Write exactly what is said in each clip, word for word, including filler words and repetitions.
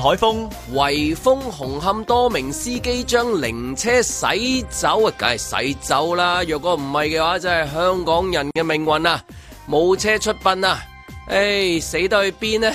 海峰， 圍封紅磡多名司機將靈車駛走啊，梗係駛走啦！若果唔係嘅話，真係香港人嘅命運啊！冇車出殯啊！唉，死得去邊呢？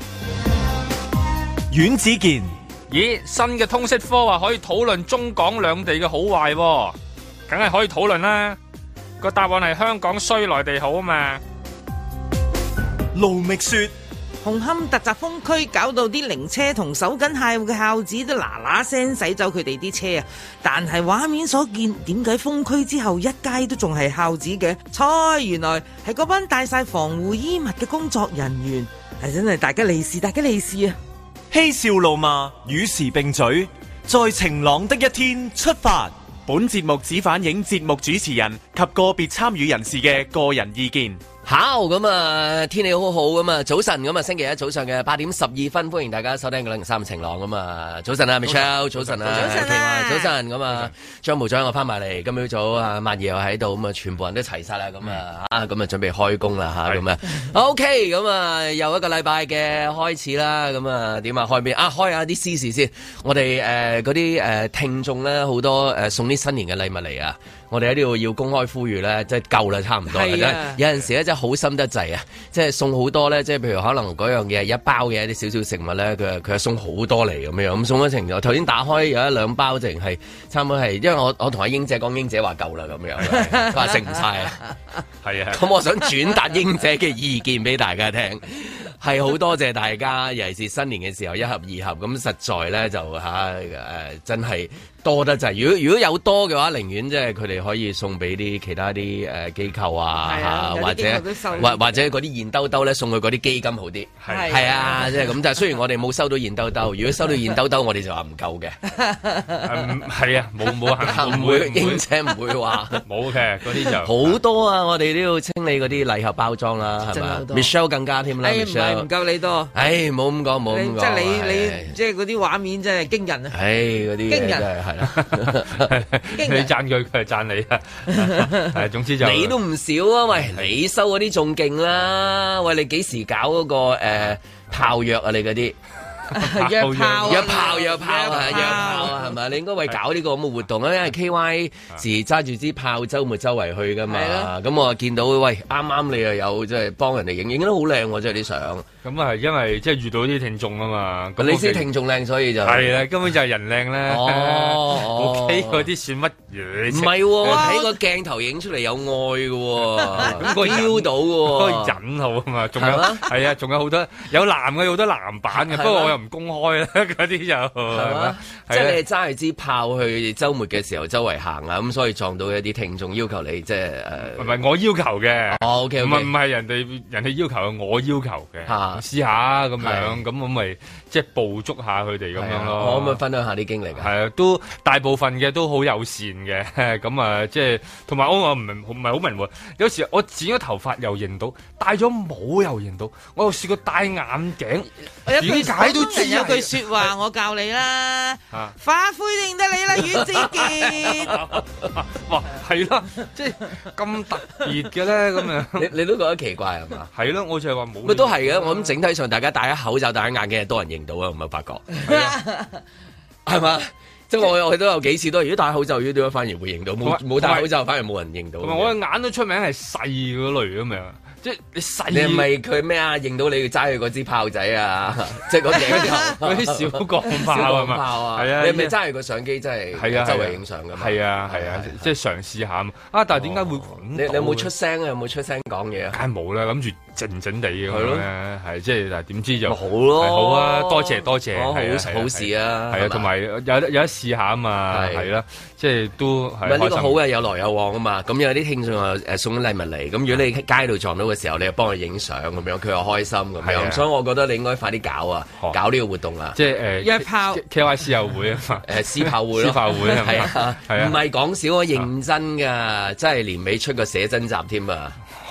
阮子健， 咦，新嘅通識科話可以討論中港兩地嘅好壞喎，梗係可以討論啦。個答案係香港衰內地好啊嘛。 盧覓雪， 紅磡突襲封區，搞到啲靈車同守緊客戶嘅孝子都嗱嗱聲駛走佢哋啲車啊！但係畫面所見，點解封區之後一街都仲係孝子嘅？猜原來係嗰班帶晒防護衣物嘅工作人員，係真係大吉利是，大吉利是啊！ 嬉笑怒罵，與時並舉，在晴朗的一天出發。本節目只反映節目主持人及個別參與人士嘅個人意見。 好咁啊，天氣好好咁啊，早晨咁啊，星期一早上嘅八點十二分，歡迎大家收聽九零三晴朗咁啊，早晨啊 Michelle， 早晨啊， 早晨啊， 早晨咁啊，張部長我翻埋嚟，今朝早啊，萬爺又喺度，咁啊，全部人都齊晒啦，咁啊，啊，咁啊，準備開工啦吓，咁啊 ，OK，咁啊，又一個禮拜嘅開始啦，咁啊，點啊，開邊啊，開下啲私事先，我哋誒嗰啲誒聽眾咧，好多誒送啲新年嘅禮物嚟啊。我哋喺呢度要公開呼籲咧，即係夠啦，差唔多啦。啊、有陣時咧，真係好心得滯啊！即係送好多咧，即係譬如可能嗰樣嘢一包嘅一啲少少食物咧，佢佢係送好多嚟咁樣，咁送咗程度。頭先打開有一兩包，淨係差唔多係，因為我我同阿英姐講，英姐話夠啦咁樣，佢話食唔晒啊。係啊，咁我想轉達英姐嘅意見俾大家聽，係好多謝大家，尤其是新年嘅時候一盒二盒咁，實在咧就嚇誒、啊、真係。多得滯，如果如果有多嘅話，寧願即係佢哋可以送俾啲其他啲誒機構啊，啊或者或或者嗰啲現兜兜咧送去嗰啲基金好啲，係係啊，即係咁。但係雖然我哋冇收到現兜兜，如果收到現兜兜，我哋就話唔夠嘅。 係啊，冇冇唔會，英姐唔會話冇嘅嗰啲就好多啊！我哋都要清理嗰啲禮盒包裝啦，係嘛 ？Michelle 更加添啦， 唔係唔夠你多。 唉，冇咁講，冇咁講。 即係你你即係嗰啲畫面真係驚人啊！ 唉，嗰啲驚人係。 你讚佢，佢係讚你啊！係，總之就你都唔少啊！喂，你收嗰啲仲勁啦！喂，你幾時搞嗰個誒炮藥啊？你嗰啲約炮、 約炮、約炮啊！約炮啊！係咪？你應該為搞呢個咁嘅活動啊！因為 K Y 時揸住支炮，週末周圍去噶嘛。咁我見到喂，啱啱你又有即係幫人哋影，影得好靚喎！即係啲相。咁啊，係因為即係遇到啲聽眾啊嘛。 咁你知聽眾靚，所以就係啦，根本就係人靚咧。哦，OK，嗰啲算乜嘢？唔係喎，睇個鏡頭影出嚟有愛嘅喎，咁個腰到喎， 個引號啊嘛，仲有係啊，仲有好多有男嘅，有好多男版嘅，不過我又唔公開啦，嗰啲就係嘛， 即係你揸住支炮去週末嘅時候周圍行啊，咁所以撞到一啲聽眾要求你即係誒， 唔係我要求嘅， 哦 OK， 唔係唔係人哋人哋要求，我要求嘅。試下咁樣，咁我咪即係捕捉下佢哋咁樣咯。 我可唔可以分享下啲經歷啊？ 係啊，都大部分嘅都好友善嘅，咁啊，即係同埋我我唔明唔係好明喎。有時我剪咗頭髮又認到，戴咗帽又認到，我又試過戴眼鏡，點解都知有句説話我教你啦，化灰認得你啦，阮子健。 哇，係啦，即係咁特別嘅咧，咁樣你你都覺得奇怪係嘛？ 係咯，我就係話冇。 咪都係嘅，我諗整體上大家戴咗口罩、戴咗眼鏡，係多人認到啊，唔係發覺係嘛？即係我我都有幾次都，如果戴口罩，如果點解反而會認到？冇冇戴口罩，反而冇人認到。 同埋我嘅眼都出名係細嗰類咁樣。即係你細， 你係咪佢咩啊？認到你揸佢嗰支炮仔啊！即係嗰啲嗰啲小鋼炮啊嘛，係啊！ 你係咪揸住個相機真係係啊？周圍影相㗎嘛？ 係啊係啊，即係嘗試下啊！但係點解會你你有冇出聲啊？有冇出聲講嘢啊？ 梗係冇啦，諗住靜靜地咁樣，係即係但係點知就好咯， 好啊！多謝多謝， 好好事啊！ 係啊，同埋有有得有得試下啊嘛，係啦，即係都係。 呢個好嘅，有來有往啊嘛！咁有啲聽眾又誒送啲禮物嚟，咁如果你喺街度撞到嘅時候，你又幫佢影相咁樣，佢又開心咁樣，所以我覺得你應該快啲搞啊，搞呢個活動啊， 即係誒約炮 K Y C 友會啊嘛， 誒私炮會咯， 私炮會係啊，唔係講笑啊，認真㗎，真係年尾出個寫真集添啊！ 好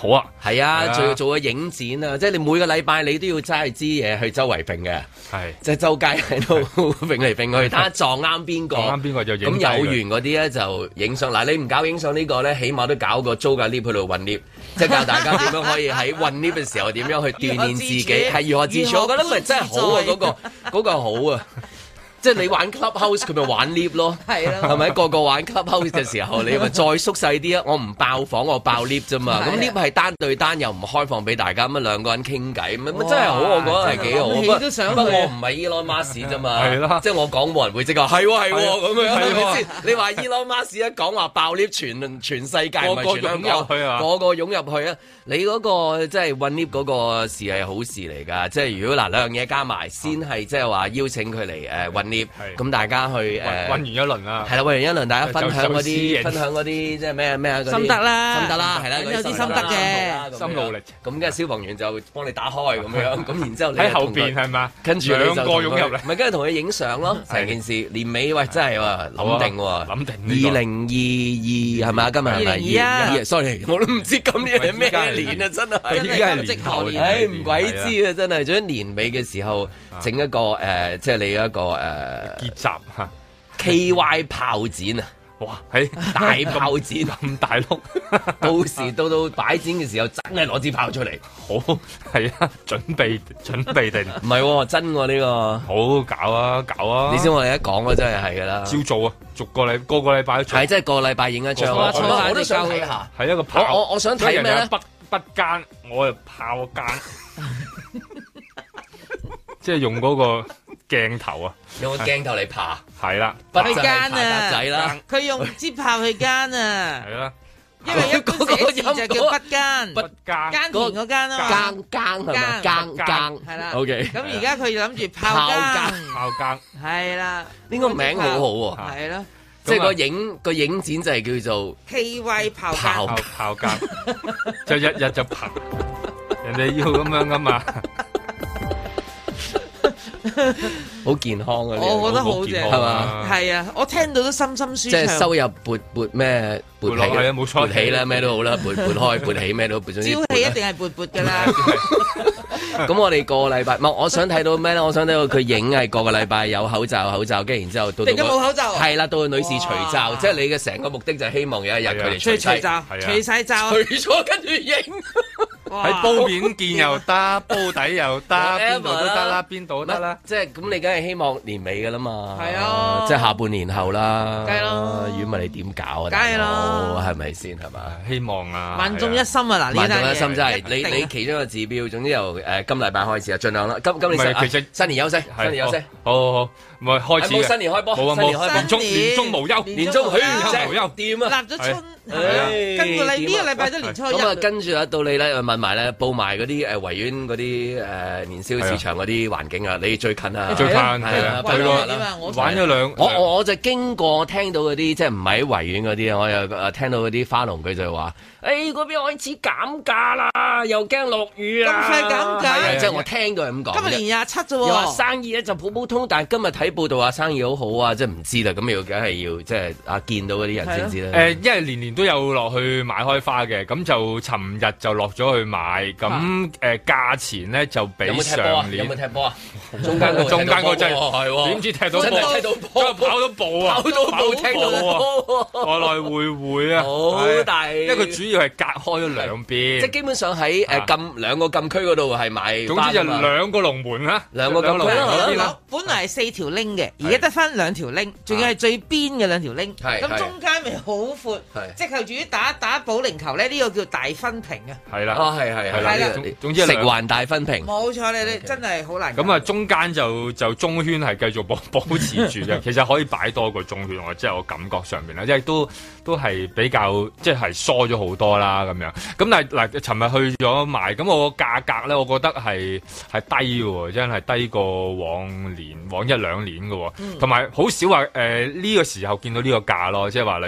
好啊， 係啊，仲要做個影展啊，即係你每個禮拜你都要揸支嘢去周圍揈嘅，係即係周街喺度揈嚟揈去，睇下撞啱邊個，撞啱邊個就影。咁有緣嗰啲咧就影相。嗱，你唔搞影相呢個咧，起碼都搞個租架 lift 去度運 lift，即係教大家點樣可以喺運 lift 嘅時候點樣去鍛鍊自己，係如何自處。我覺得咪真係好啊，嗰個嗰個好啊。即係你玩 clubhouse， 佢咪玩 lift 咯，係咯，係咪個個玩 clubhouse 嘅時候，你咪再縮細啲啊！我唔爆房，我爆 lift 啫嘛。咁 lift 係單對單，又唔開放俾大家，咁啊兩個人傾偈，咁真係好，我覺得係幾好。不過我唔係 Elon Musk 啫嘛，係咯，即係我講冇人會即刻係喎係喎咁樣，係咪先？你話 Elon Musk 一講話爆 lift，全全世界唔係全香港，個個湧入去啊！你嗰個即係運 lift 嗰個事係好事嚟㗎，即係如果嗱兩樣嘢加埋，先係即係話邀請佢嚟誒運 lift，咁大家去誒運完一輪啦，係啦，運完一輪大家分享嗰啲分享嗰啲即係咩咩心得啦，心得啦，係啦，有啲心得嘅心路歷程，咁跟住消防員就幫你打開咁樣，咁然之後你喺後邊係嘛，跟住兩個湧入嚟，咪跟住同佢影相咯，成件事年尾喂真係喎諗定喎，諗定二零二二係咪啊？今日係咪二零二一 ？sorry， 我都唔知今年係咩年啊！真係，依家係年頭，唉唔鬼知啊！真係，仲喺年尾嘅時候整一個誒，即係你一個誒結集嚇 K Y 炮展啊！哇，喺大炮展咁大碌，到時到到擺展嘅時候，真係攞支炮出嚟，好係啊！準備準備定唔係真喎呢個，好搞啊搞啊！你先我哋一講啊，真係係噶啦，照做啊！逐個禮個個禮拜都做，係即係個禮拜影一張啊！我都想睇下，係一個炮，我我想睇咩咧？北北間，我就炮間，即係用嗰個鏡頭啊，用個鏡頭嚟爬，係啦，北間啊，仔啦，佢用支炮去間啊，係啦，因為一個寫字就叫北間，北間耕田嗰間啊，耕耕係咪？耕耕係啦，OK。咁而家佢就諗住炮間，炮間係啦，呢個名好好喎，係咯。即係個影個影展就係叫做 K Y 炮炮炮間，就日日就跑，人哋要咁樣噶嘛，好健康啊！我覺得好正係嘛，係啊，我聽到都心心舒暢。即係收入撥撥咩撥起啊，冇錯，撥起啦，咩都好啦，撥撥開撥起咩都撥。朝氣一定係撥撥噶啦。咁我哋個禮拜，唔係我想睇到咩咧？我想睇到佢影係個個禮拜有口罩，口罩，跟住然之後到到冇口罩，係啦，到個女士除罩，即係你嘅成個目的就係希望有一日佢哋除除罩，除晒罩，除咗跟住影，喺煲麵見又得，煲底又得，邊度都得啦，邊度都得啦。即係咁，你梗係希望年尾噶啦嘛，係啊，即係下半年後啦，梗係咯。如果唔係你點搞啊？梗係咯，係咪先係嘛？希望啊，萬眾一心啊！嗱，萬眾一心真係你你其中一個指標，總之由誒。今禮拜開始啊，盡量啦。今今年其實新年休息，新年休息，好好好，唔係開始嘅。冇新年開波，冇啊冇，年中年中無休，年中許無休，掂啊！立咗春，跟住你呢個禮拜都年初一。咁啊，跟住啊，到你咧問埋咧，報埋嗰啲誒維園嗰啲誒年宵市場嗰啲環境啊，你最近啊，最近係啊，去過玩咗兩。我我我就經過聽到嗰啲即係唔係喺維園嗰啲啊，我又誒聽到嗰啲花農佢就話。誒嗰邊開始減價啦，又驚落雨啊！咁快減價，即係我聽到係咁講。今日年廿七啫喎，又話生意咧就普普通，但係今日睇報道話生意好好啊，即係唔知啦。咁要梗係要即係啊見到嗰啲人先知啦。誒，因為年年都有落去買開花嘅，咁就尋日就落咗去買，咁誒價錢咧就比上年。有冇踢波啊？中間個中間個真係點知踢到波？踢到波，跑到步啊！跑到步，踢到波，來來回回啊！好大，因為佢主要。係隔開咗兩邊，即係基本上喺誒禁兩個禁區嗰度係買。總之就兩個龍門啦，兩個禁區啦。本嚟係四條 link 嘅，而家得翻兩條 link，仲要係最邊嘅兩條 link。咁中間咪好闊，即係就住打打保齡球咧，呢個叫大分屏啊。係啦，啊係係係啦，總之食環大分屏。冇錯，你你真係好難。咁啊，中間就就中圈係繼續保保持住嘅，其實可以擺多個中圈，我即係我感覺上面啦，即係都都係比較即係疏咗好多。多啦咁樣，咁但係嗱，尋日去咗買，咁我個價格咧，我覺得係係低嘅，真係低過往年往一兩年嘅，同埋好少話誒呢個時候見到呢個價咯，即係話例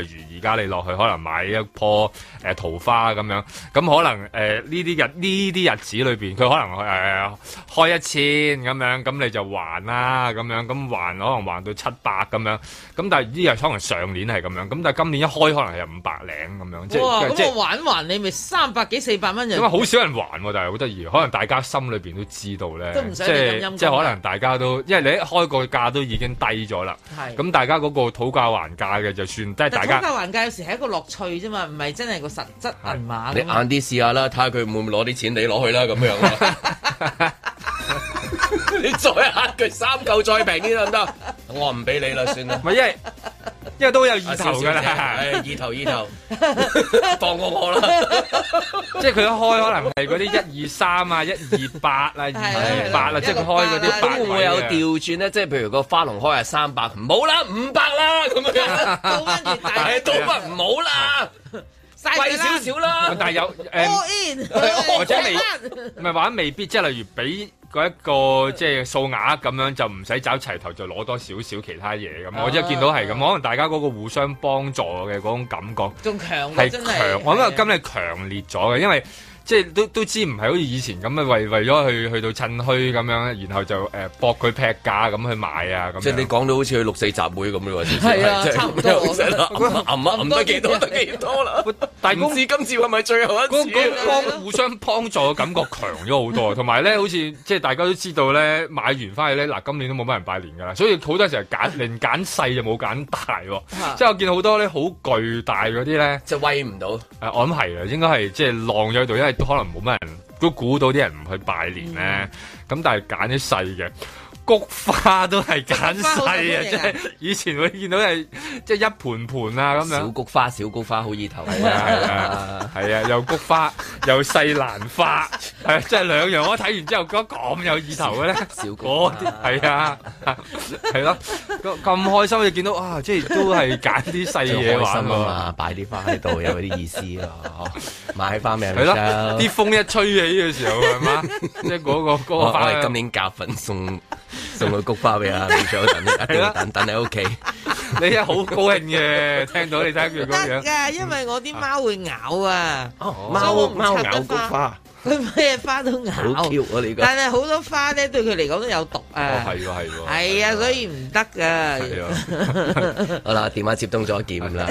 如而家你落去可能買一棵誒、呃、桃花咁樣，咁可能誒呢啲日呢啲日子裏邊，佢可能誒、呃、開一千咁樣，咁你就還啦咁樣，咁還可能還到七百咁樣，咁但係呢日可能上年係咁樣，咁但係今年一開可能係五百零咁樣，即哇！ 係即係咁我還還你咪三百幾四百蚊人， 因為好少人還喎，但係好得意，可能大家心裏邊都知道咧， 都唔使即你咁陰功係即係可能大家都，因為你一開個價都已經低咗啦， 係咁大家嗰個討價還價嘅就算，即係大家討價還價有時係一個樂趣啫嘛，唔係真係個實質銀碼。 你晏啲試下啦，睇下佢會唔會攞啲錢你攞去啦咁樣。你再呃佢三嚿再平啲得唔得？我唔俾你啦，算啦。 唔係因為因為都有意頭㗎啦， 係意頭意頭，放過我啦。 即係佢一開可能係嗰啲一二三啊、一二八啊、二二八啊，即係佢開嗰啲八會唔會有調轉咧？即係譬如個花籠開係三百，唔好啦，五百啦咁樣。 倒翻轉大， 係倒翻唔好啦。貴少少啦， 但係有誒，或者未唔係話未必，即係例如俾嗰一個即係數額咁樣，就唔使找齊頭，就攞多少少其他嘢咁。我即係見到係咁，可能大家嗰個互相幫助嘅嗰種感覺仲強係真係強，我覺得今日強烈咗嘅，因為。即係都都知唔係好似以前咁啊，為為咗去去到趁墟咁樣，然後就誒搏佢劈價咁去買啊咁。 即係你講到好似去六四集會咁咯， 係啊，差唔多啦， 揞啊揞得幾多得幾多啦。但係唔知今次係咪最後一次？ 嗰嗰幫互相幫助嘅感覺強咗好多，同埋咧好似即係大家都知道咧，買完翻去咧嗱，今年都冇乜人拜年㗎啦，所以好多時候揀連揀細就冇揀大喎。即係我見好多咧好巨大嗰啲咧， 即係威唔到。誒， 我諗係啦，應該係即係晾咗喺度，因為都可能冇乜人都估到啲人唔去拜年咧，咁、嗯、但係揀啲細嘅。菊花都係揀細啊！即係以前會見到係即係一盤盤啊咁樣。 小菊花，小菊花好意頭。 係啊係啊，係啊，又菊花又細蘭花，係即係兩樣。我睇完之後覺得咁有意頭嘅咧， 小菊花係啊，係咯，咁開心就見到啊，即係都係揀啲細嘢玩啊嘛，擺啲花喺度有啲意思啊，買花名係咯，啲風一吹起嘅時候係嘛，即係嗰個嗰個花。 我哋今年夾粉送。送個菊花俾阿李長等，一定等等喺屋企。 你一好高興嘅，聽到你睇佢咁樣。 得㗎，因為我啲貓會咬啊。 貓貓咬菊花， 佢咩花都咬。 好 Q 啊！你個。 但係好多花咧，對佢嚟講都有毒啊。 哦，係喎，係喎。 係啊，所以唔得㗎。 係啊。 好啦，電話接通咗劍啦。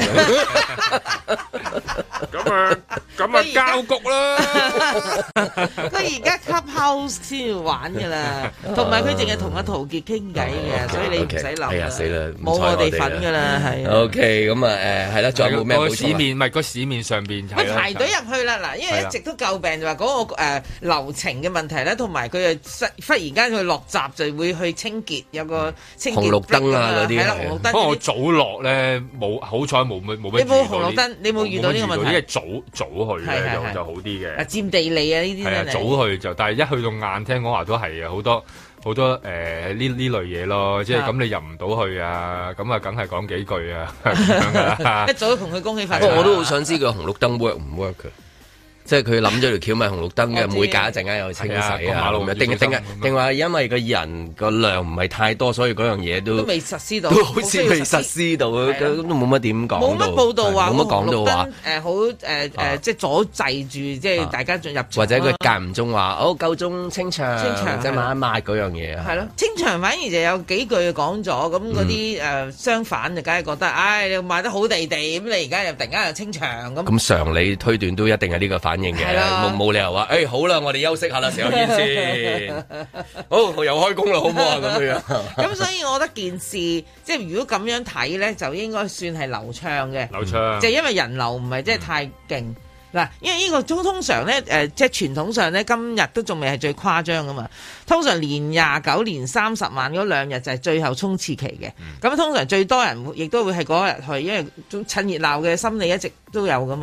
咁啊，咁啊，交局啦。 佢而家 Clubhouse 先要玩㗎啦，同埋佢淨係同阿陶傑傾偈嘅，所以你唔使諗。 係啊，死啦， 冇我哋份㗎啦，係。 O K，咁啊，誒係啦，仲有冇咩？ 個市面唔係個市面上邊係排隊入去啦，嗱，因為一直都詬病就話嗰個誒流程嘅問題咧，同埋佢誒忽然間佢落閘就會去清潔，有個清潔紅綠燈啊嗰啲。 係啦，紅綠燈。 不過我早落咧冇，好彩冇乜冇乜。 你冇紅綠燈，你冇遇到呢個問題。 因為早早去咧就就好啲嘅。 啊，佔地利啊呢啲。 係啊，早去就，但係一去到晏，聽講話都係啊，好多好多誒呢呢類嘢咯，即係咁你入唔到去啊，咁啊梗係講幾句啊咁樣噶啦。 一早都同佢恭喜發財。 不過我都好想知佢紅綠燈 work 唔 work 嘅。即係佢諗咗條橋咪紅綠燈嘅，每隔一陣間又清洗啊，定定定話因為個人個量唔係太多，所以嗰樣嘢都都未實施到， 都好似未實施到，都冇乜點講。 冇乜報道話， 冇乜講到話誒好誒誒，即係阻滯住，即係大家進入。 或者佢間唔中話，哦夠鐘清場， 清場即係抹一抹嗰樣嘢啊。 係咯，清場反而就有幾句講咗，咁嗰啲誒相反就梗係覺得，唉，你賣得好地地，咁你而家又突然間又清場咁。咁常理推斷都一定係呢個反應嘅。冇冇理由話，誒、欸、好啦，我哋休息下啦，食下煙先。好，又開工啦，好唔好啊？咁樣。 咁所以我覺得件事，即係如果咁樣睇咧，就應該算係流暢嘅。 流暢。就因為人流唔係真係太勁嗱，嗯、因為呢個通通常咧，誒、呃，即係傳統上咧，今日都仲未係最誇張噶嘛。通常年廿九、年三十晚嗰兩日就係最後衝刺期嘅。咁、嗯、通常最多人亦都會係嗰日去，因為趁熱鬧嘅心理一直都有噶嘛。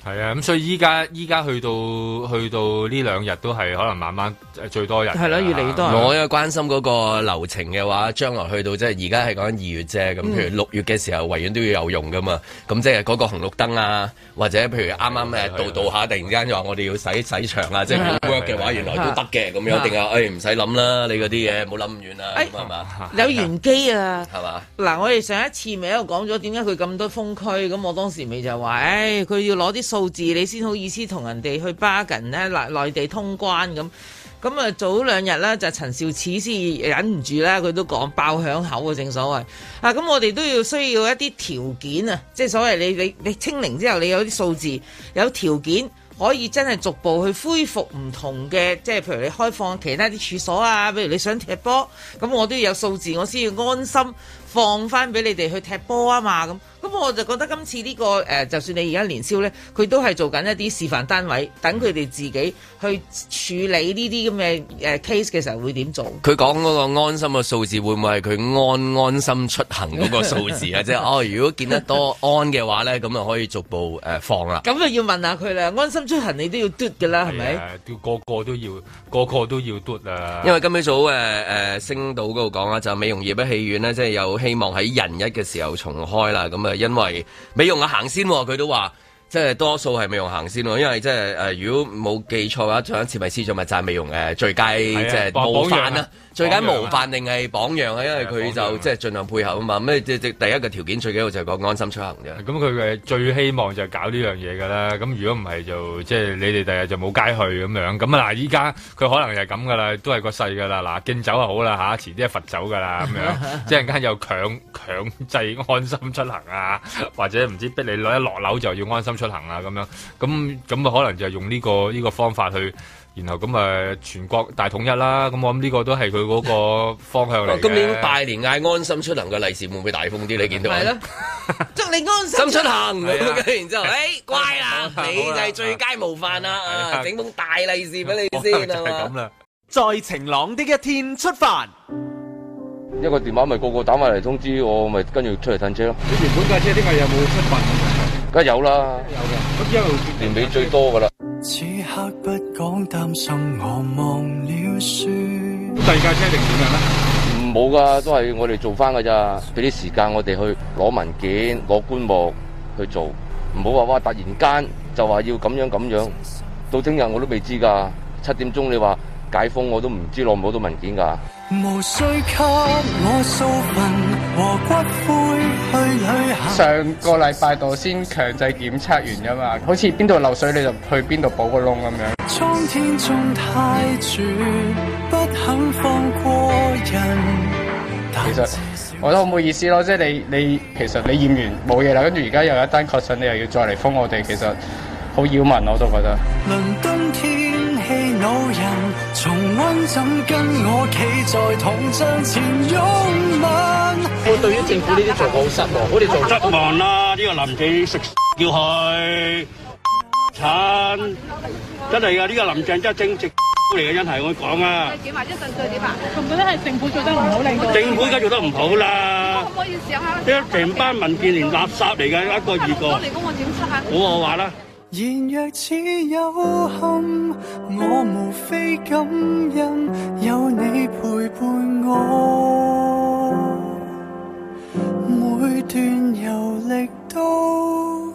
係啊，咁所以依家依家去到去到呢兩日都係可能慢慢最多人。 係啦，越嚟越多人。 我因為關心嗰個流程嘅話，將來去到即係而家係講緊二月啫。咁譬如六月嘅時候，維園都要有用噶嘛。咁即係嗰個紅綠燈啊，或者譬如啱啱誒度度下，突然間就話我哋要洗洗場啊，即係 work 嘅話，原來都得嘅。咁樣定係誒唔使諗啦，你嗰啲嘢冇諗咁遠啦，係嘛？ 有玄機啊， 係嘛？ 嗱，我哋上一次咪喺度講咗點解佢咁多封區，咁我當時咪就話，誒，佢要攞啲數字，你先好意思同人哋去 bargain 咧，內內地通關咁。咁啊，早兩日咧就陳肇始先忍唔住啦，佢都講爆響口啊，正所謂啊，咁我哋都要需要一啲條件啊，即係所謂你你你清零之後，你有啲數字，有條件可以真係逐步去恢復唔同嘅，即係譬如你開放其他啲處所啊，譬如你想踢波，咁我都要有數字，我先要安心放翻俾你哋去踢波啊嘛，咁咁我就覺得今次呢、這個誒、呃，就算你而家年宵咧，佢都係做緊一啲示範單位，等佢哋自己去處理呢啲咁嘅誒 case 嘅時候會點做？ 佢講嗰個安心嘅數字會唔會係佢安安心出行嗰個數字啊？即係哦，如果見得多安嘅話咧，咁啊可以逐步誒、呃、放啦。咁啊要問下佢啦，安心出行你都要嘟㗎啦，係咪？ 都個個都要，個個都要嘟啊！ 因為今朝早誒誒、呃、星島嗰度講啊，就美容業嘅戲院咧，即係有希望喺人一嘅時候重開啦。咁啊，因為美容啊行先，佢都話。即係多數係美容行先喎，因為即係誒，如果冇記錯嘅話，上一次咪試咗咪就係美容誒最佳即係模範啦，最佳模範定係榜樣啊？因為佢就即係盡量配合啊嘛。咩即即第一個條件最緊要就係講安心出行啫。咁佢嘅最希望就係搞呢樣嘢㗎啦。咁如果唔係就即係你哋第日就冇街去咁樣。咁啊嗱，依家佢可能就係咁㗎啦，都係個勢㗎啦。嗱，敬酒就好啦嚇，遲啲係罰酒㗎啦咁樣。即係陣間又強強制安心出行啊，或者唔知逼你攞一落樓就要安心出行啊咁樣，咁咁啊可能就係用呢、這個呢、這個方法去，然後咁啊全國大統一啦，咁我諗呢個都係佢嗰個方向嚟嘅。 今年拜年嗌安心出行嘅利是會唔會大風啲？你見到係咯， 祝你安心出行，然之後誒乖啦，你就係最佳模範啦，啊整封大利是俾你先啊嘛。 咁啦，在晴朗的一天出發。 一個電話咪個個打埋嚟通知我，咪跟住出嚟褪車咯。 你原本架車點解有冇出發？ 梗係有啦， 有嘅，咁一路年尾最多噶啦。 此刻不講擔心，我忘了輸。 第二架車定點樣咧？ 唔冇噶，都係我哋做翻噶咋，俾啲時間我哋去攞文件、攞棺木去做，唔好話哇突然間就話要咁樣咁樣，到聽日我都未知噶。七點鐘你話解封，我都唔知攞唔攞到文件噶。 無需給我數份和骨灰去旅行。 上個禮拜度先強制檢測完㗎嘛，好似邊度漏水你就去邊度補個窿咁樣。 蒼天中太絕，不肯放過人。 其實我覺得好唔好意思咯，即係你你其實你驗完冇嘢啦，跟住而家又有一單確診，你又要再嚟封我哋，其實好擾民我都覺得。 倫敦天氣惱人，重溫怎跟我企在銅像前擁吻。 我對於政府呢啲做法好失望，我哋做失望啦！呢個林鄭食叫佢慘，真係噶！呢個林鄭真係正直嚟嘅，真係我講啊！ 點啊？一陣再點啊？我覺得係政府做得唔好，令到政府而家做得唔好啦！ 可唔可以試下？ 呢成班民建聯垃圾嚟嘅，一個二個。 嚟講我點出啊？ 好我話啦。 然若只有憾，我無非感恩有你陪伴我，每段遊歷都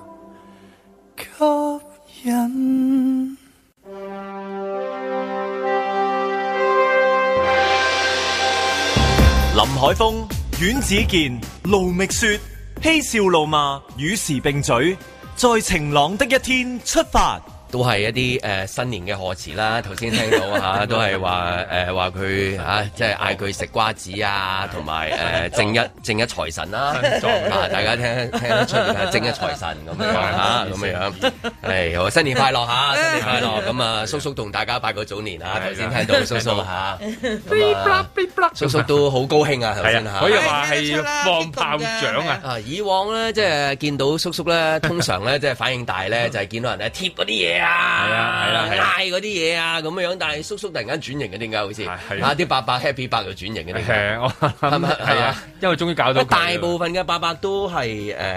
吸引。 林海峰、阮子健、盧覓雪，嬉笑怒罵，與時並舉。在晴朗的一天出發， 都係一啲誒、呃、新年嘅賀詞啦。頭先聽到嚇、啊，都係話誒話佢嚇，即係嗌佢食瓜子啊，同埋誒正一正一財神啦、啊。大家聽聽得出係正一財神咁樣嚇，咁樣樣。係好新年快樂嚇，新年快樂。咁啊，叔叔同大家拜個早年啊。頭先聽到叔叔嚇，叔叔都好高興啊。頭先嚇， 可以話係放炮仗啊。 啊，以往咧即係見到叔叔咧，通常咧即係反應大咧，就係見到人咧貼嗰啲嘢嘢啊， 係啊係啊係啊嗌嗰啲嘢啊咁樣，但係叔叔突然間轉型嘅，點解好似係啊啲伯伯 happy 伯就轉型嘅？點解？ 我係咪係啊？因為終於搞到大部分嘅伯伯都係誒誒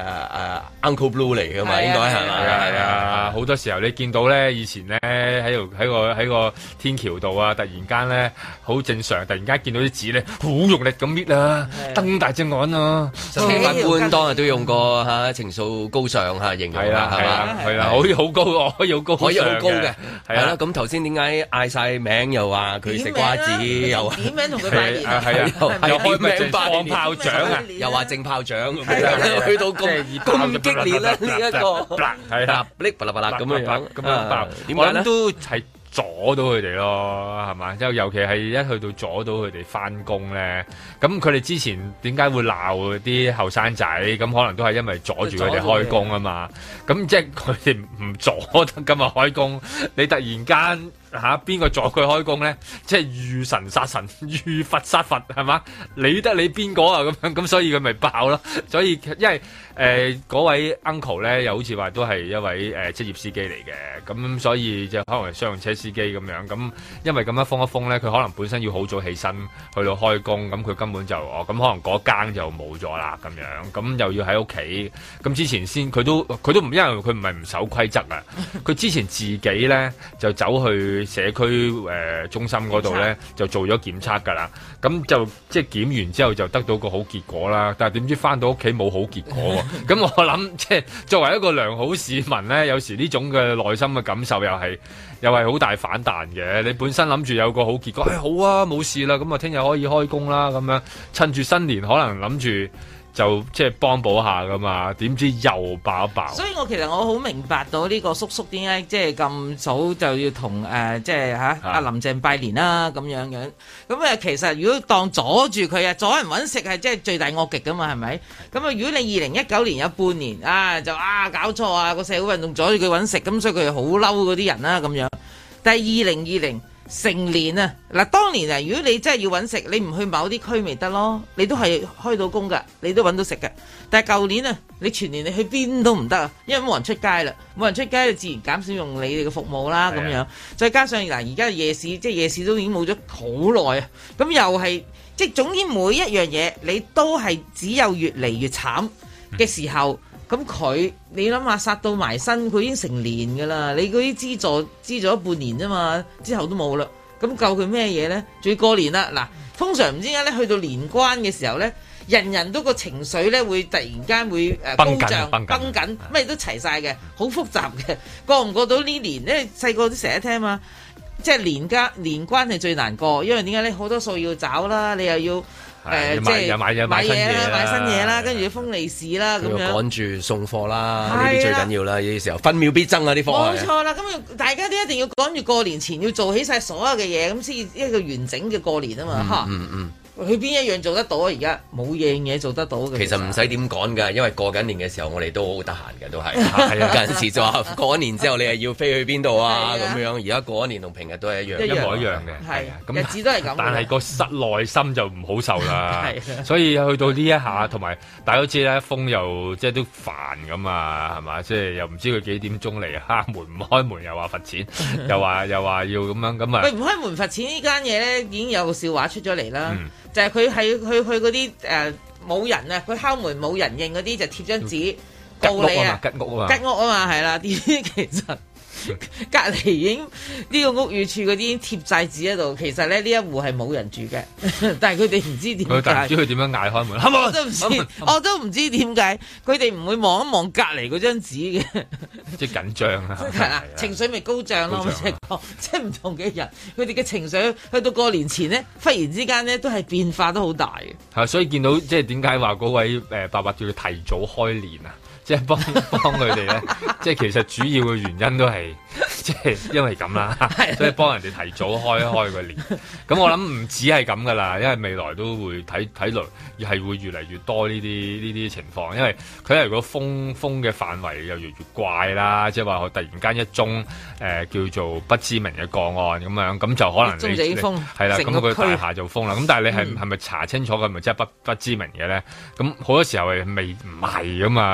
Uncle Blue 嚟㗎嘛，應該係係啊係啊！好多時候你見到咧，以前咧喺度喺個喺個天橋度啊，突然間咧好正常，突然間見到啲紙咧好用力咁搣啊，瞪大隻眼啊！ 法官當日都用過嚇情緒高尚嚇形容啦，係嘛？ 係啦，可以好高，可以好高， 可以好高嘅，係啦。 係啦。 咁頭先點解嗌晒名又話佢食瓜子，又點名同佢拜年， 係啊，又開名放炮仗啊， 又話正炮仗，去到咁咁激烈咧呢一個， 係啊， 噼啪啦啪啦咁樣樣， 咁樣爆， 點解咧？ 都係阻到佢哋咯，係嘛？即係尤其係一去到阻到佢哋翻工咧，咁佢哋之前點解會鬧啲後生仔？咁可能都係因為阻住佢哋開工啊嘛。咁即係佢哋唔阻得噶嘛開工，你突然間嚇邊個阻佢開工咧？即係遇神殺神，遇佛殺佛，係嘛？理得你邊個啊？咁樣咁，所以佢咪爆咯。所以因為誒嗰、呃、位 uncle 咧，又好似話都係一位誒、呃、職業司機嚟嘅，咁所以就可能係商用車司機咁樣。咁因為咁樣封一封咧，佢可能本身要好早起身去到開工，咁佢根本就哦咁可能嗰更就冇咗啦咁樣。咁又要喺屋企，咁之前先佢都佢都唔因為佢唔係唔守規則啊，佢之前自己咧就走去社區誒、呃、中心嗰度咧就做咗檢測㗎啦。咁就即係檢完之後就得到個好結果啦。但係點知翻到屋企冇好結果喎。咁我諗即係作為一個良好市民咧，有時呢種嘅內心嘅感受又係又係好大反彈嘅。你本身諗住有個好結果，誒、哎、好啊冇事啦，咁啊聽日可以開工啦，咁樣趁住新年可能諗住就即係幫補下噶嘛，點知又爆一爆。 所以我其實我好明白到呢個叔叔點解即係咁早就要同誒、呃、即係嚇阿林鄭拜年啦咁樣樣。咁誒其實如果當阻住佢啊，阻人揾食係即係罪大惡極噶嘛，係咪？咁啊，如果你二零一九年有半年啊，就啊搞錯啊個社會運動阻住佢揾食，咁所以佢好嬲嗰啲人啦咁樣。但係二零二零成年啊，嗱當年啊，如果你真係要揾食，你唔去某啲區咪得咯，你都係開到工㗎，你都揾到食㗎。但係舊年啊，你全年你去邊都唔得啊，因為冇人出街啦，冇人出街，就自然減少用你哋嘅服務啦咁樣。再加上嗱，而家夜市即係夜市都已經冇咗好耐啊，咁又係即係總之每一樣嘢你都係只有越嚟越慘嘅時候。咁佢，你諗下殺到埋身，佢已經成年㗎啦。你嗰啲資助資助咗半年啫嘛，之後都冇啦。咁救佢咩嘢咧？仲要過年啦。嗱，通常唔知點解咧，去到年關嘅時候咧，人人都個情緒咧會突然間會誒高漲、繃緊，咩都齊晒嘅，好複雜嘅。過唔過到呢年咧？細個都成日聽嘛，即係年關年關係最難過，因為點解咧？好多數要找啦，你又要。誒，即係買嘢啦，買新嘢啦，跟住要封利是啦，咁樣趕住送貨啦，呢啲最緊要啦，呢啲時候分秒必爭啊！啲貨冇錯啦，咁大家都一定要趕住過年前要做起晒所有嘅嘢，咁先一個完整嘅過年啊嘛，嚇！嗯嗯。佢邊一樣做得到啊？而家冇樣嘢做得到嘅。 其實唔使點趕㗎，因為過緊年嘅時候，我哋都好得閒嘅，都係。係啊，有陣時就話過咗年之後，你係要飛去邊度啊？咁樣。而家過咗年同平日都係一樣， 一模一樣嘅。 係啊，日子都係咁。 但係個室內心就唔好受啦。係。所以去到呢一下，同埋大家都知咧，風又即係都煩咁啊，係嘛？即係又唔知佢幾點鐘嚟啊？門唔開門又話罰錢，又話又話要咁樣咁啊。 喂，唔開門罰錢呢間嘢咧，已經有個笑話出咗嚟啦。就係佢係去去嗰啲誒冇人啊，佢敲門冇人應嗰啲就貼張紙告你啊， 吉屋啊嘛， 吉屋啊嘛，係啦，啲其實隔離已經呢個屋宇署嗰啲已經貼晒紙喺度，其實咧呢一戶係冇人住嘅，但係佢哋唔知點解， 但唔知佢點樣嗌開門， 我都唔知，我都唔知點解佢哋唔會望一望隔離嗰張紙嘅， 即係緊張啊， 係啦，情緒咪高漲咯，即係講，即係唔同嘅人，佢哋嘅情緒去到過年前咧，忽然之間咧都係變化都好大嘅。 係，所以見到即係點解話嗰位誒伯伯叫佢提早開年啊？即係幫幫佢哋咧，即係其實主要嘅原因都係即係因為咁啦，所以幫人哋提早開開個年。咁我諗唔止係咁噶啦，因為未來都會睇睇來係會越嚟越多呢啲呢啲情況，因為佢如果封封嘅範圍又越嚟越怪啦，即係話突然間一宗誒、呃、叫做不知名嘅個案咁樣，咁就可能你係啦，咁佢大廈就封啦。咁但係你係係咪查清楚佢係咪真係不不知名嘅咧？咁好多時候係未唔係噶嘛？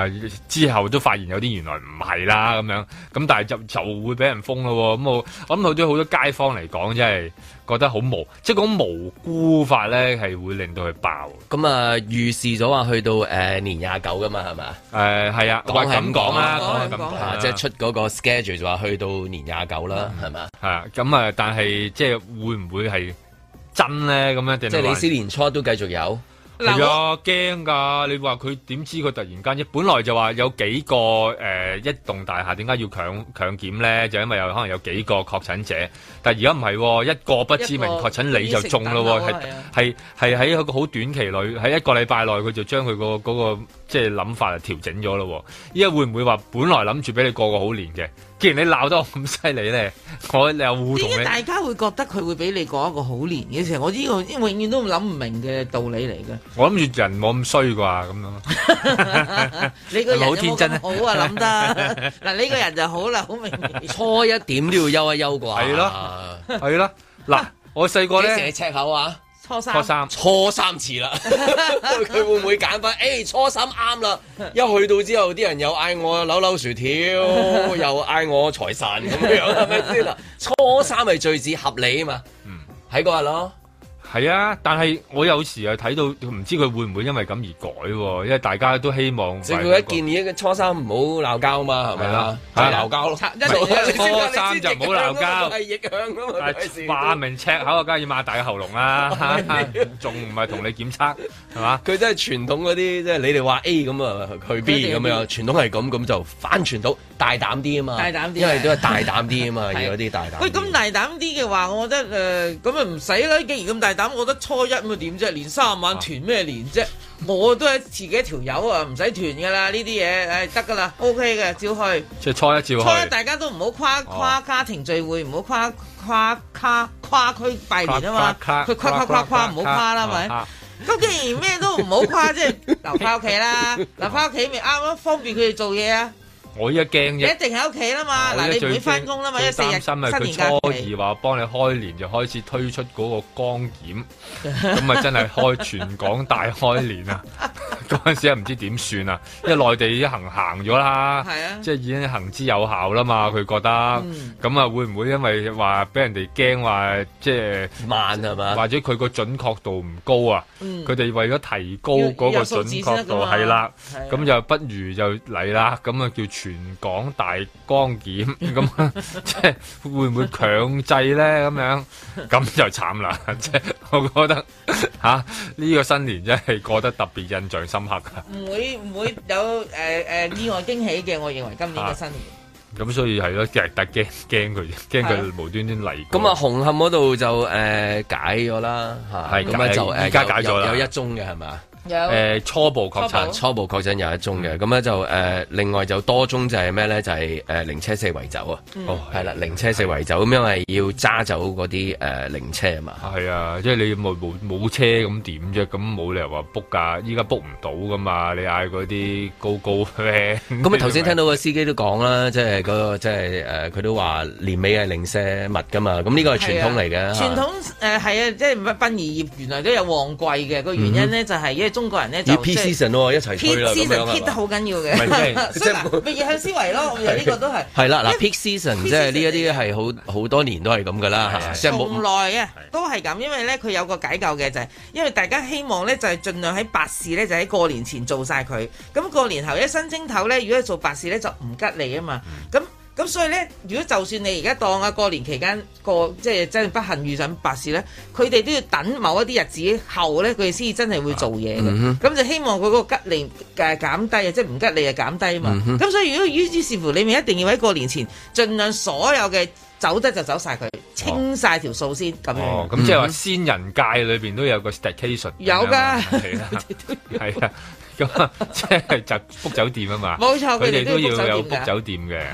之後都發現有啲原來唔係啦咁樣，咁但係就就會俾人封咯。咁我我諗對好多街坊嚟講，真係覺得好無，即係講無辜法咧，係會令到佢爆。 咁啊，預示咗話去到誒、呃、年廿九噶嘛，係咪？ 誒係啊， 講係咁講啦， 講係咁講， 即係出嗰個 schedule 就話去到年廿九啦，係咪？ 係啊，咁啊，但係即係會唔會係真咧？咁樣定即係李斯年初都繼續有。 係啊，驚㗎！你話佢點知佢突然間一本來就話有幾個誒、呃、一棟大廈點解要強強檢咧？就因為有可能有幾個確診者，但係而家唔係喎，一個不知名確診你就中咯喎，係係係喺一個好短期內，喺一個禮拜內佢就將佢、嗰個嗰、嗰個即係諗法就調整咗咯喎。依家會唔會話本來諗住俾你過個好年嘅？既然你鬧得我咁犀利咧，我又互同你。 點解大家會覺得佢會俾你過一個好年嘅時候？我呢個永遠都諗唔明嘅道理嚟嘅。 我諗住人冇咁衰啩咁樣。 你個人好天真啊！ 好啊，諗得嗱，你個人就好啦，好明顯。 初一點都要休一休啩？ 係咯，係咯。嗱，我細個咧， 幾時赤口啊？ 初三， 初三， 初三次啦。佢會唔會揀翻？誒、欸，初三啱啦。一去到之後，啲人又嗌我扭扭薯條，又嗌我財神咁樣，係咪先啦？初三係最至合理啊嘛。嗯，喺嗰日咯。 係啊，但係我有時又睇到唔知佢會唔會因為咁而改喎，因為大家都希望。 政府一建議嘅初三唔好鬧交嘛，係咪啦？係鬧交咯。 初三就唔好鬧交。 係逆向噶嘛？ 話明赤口啊，梗係要擘大個喉嚨啦，仲唔係同你檢測係嘛？ 佢真係傳統嗰啲，即係你哋話 A 咁啊，去 B 咁樣，傳統係咁，咁就反傳統，大膽啲啊嘛。 大膽啲， 因為都係大膽啲啊嘛，要有啲大膽。 喂，咁大膽啲嘅話，我覺得誒，咁啊唔使啦。既然咁大膽，我覺得初一咁啊點啫？連三晚團咩年啫？我都係自己一條友啊，唔使團噶啦，呢啲嘢誒得噶啦 ，OK 嘅，照去。 即係初一照去。 初一大家都唔好跨跨家庭聚會，唔好跨跨跨跨區拜年啊嘛。佢跨跨跨跨唔好跨啦，咪？咁既然咩都唔好跨，即係留翻屋企啦，留翻屋企咪啱咯，方便佢哋做嘢啊。 我依家驚啫， 你一定喺屋企啦嘛，嗱你唔會翻工啦嘛，一四日新年假期。佢初二話幫你開年就開始推出嗰個光檢，咁啊真係開全港大開年啊！嗰陣時啊唔知點算啊，因為內地已經行行咗啦，即係已經行之有效啦嘛，佢覺得，咁啊會唔會因為話俾人哋驚話即係慢係嘛， 或者佢個準確度唔高啊？佢哋為咗提高嗰個準確度係啦，咁就不如就嚟啦，咁啊叫全港大光檢，咁即係會唔會強制咧？咁樣咁就慘啦！即係我覺得嚇呢個新年真係過得特別印象深刻噶。 唔會唔會有誒誒意外驚喜嘅？我認為今年嘅新年。 咁所以係咯，其實特驚驚佢，驚佢無端端嚟。 咁啊，紅磡嗰度就誒解咗啦嚇，係咁啊就而家解咗啦，有一宗嘅係咪？ 有誒初步確診， 初步確診有一宗嘅，咁咧就誒另外就多宗就係咩咧？就係誒零車四圍走啊！哦，係啦，零車四圍走咁，因為要揸走嗰啲誒零車啊嘛。 係啊，即係你冇冇冇車咁點啫？咁冇理由話 book 㗎，依家 book 唔到㗎嘛？你嗌嗰啲高高咩？ 咁啊頭先聽到個司機都講啦，即係嗰個即係誒佢都話年尾係零舍密㗎嘛。咁呢個係傳統嚟嘅。傳統誒係啊，即係殯儀業原來都有旺季嘅，個原因咧就係因為中國人咧就 Peak season 喎，一齊推啦咁樣 Peak season 得好緊要嘅，即係逆向思維咯。呢個都係係啦，嗱 Peak season 即係呢一啲係好好多年都係咁噶啦，即係冇咁耐啊，都係咁。因為咧佢有個解救嘅就係，因為大家希望咧就係盡量喺白事咧就喺過年前做晒佢。咁過年後一新正頭咧，如果做白事咧就唔吉利啊嘛。咁咁所以咧，如果就算你而家當啊過年期間過，即係真係不幸遇上白事咧，佢哋都要等某一啲日子後咧，佢哋先至真係會做嘢嘅。咁、嗯、就希望佢嗰個吉利誒減低啊，即係唔吉利啊減低啊嘛。咁、嗯、所以如果於於是乎你咪一定要喺過年前，盡量所有嘅走得就走晒佢，清晒條數先咁樣。 哦，咁即係話先人界裏邊都有個 staycation。有㗎，係啊，係啊。咁啊，即係就 book 酒店啊嘛， 冇錯， 佢哋都要有 book 酒店嘅。 係，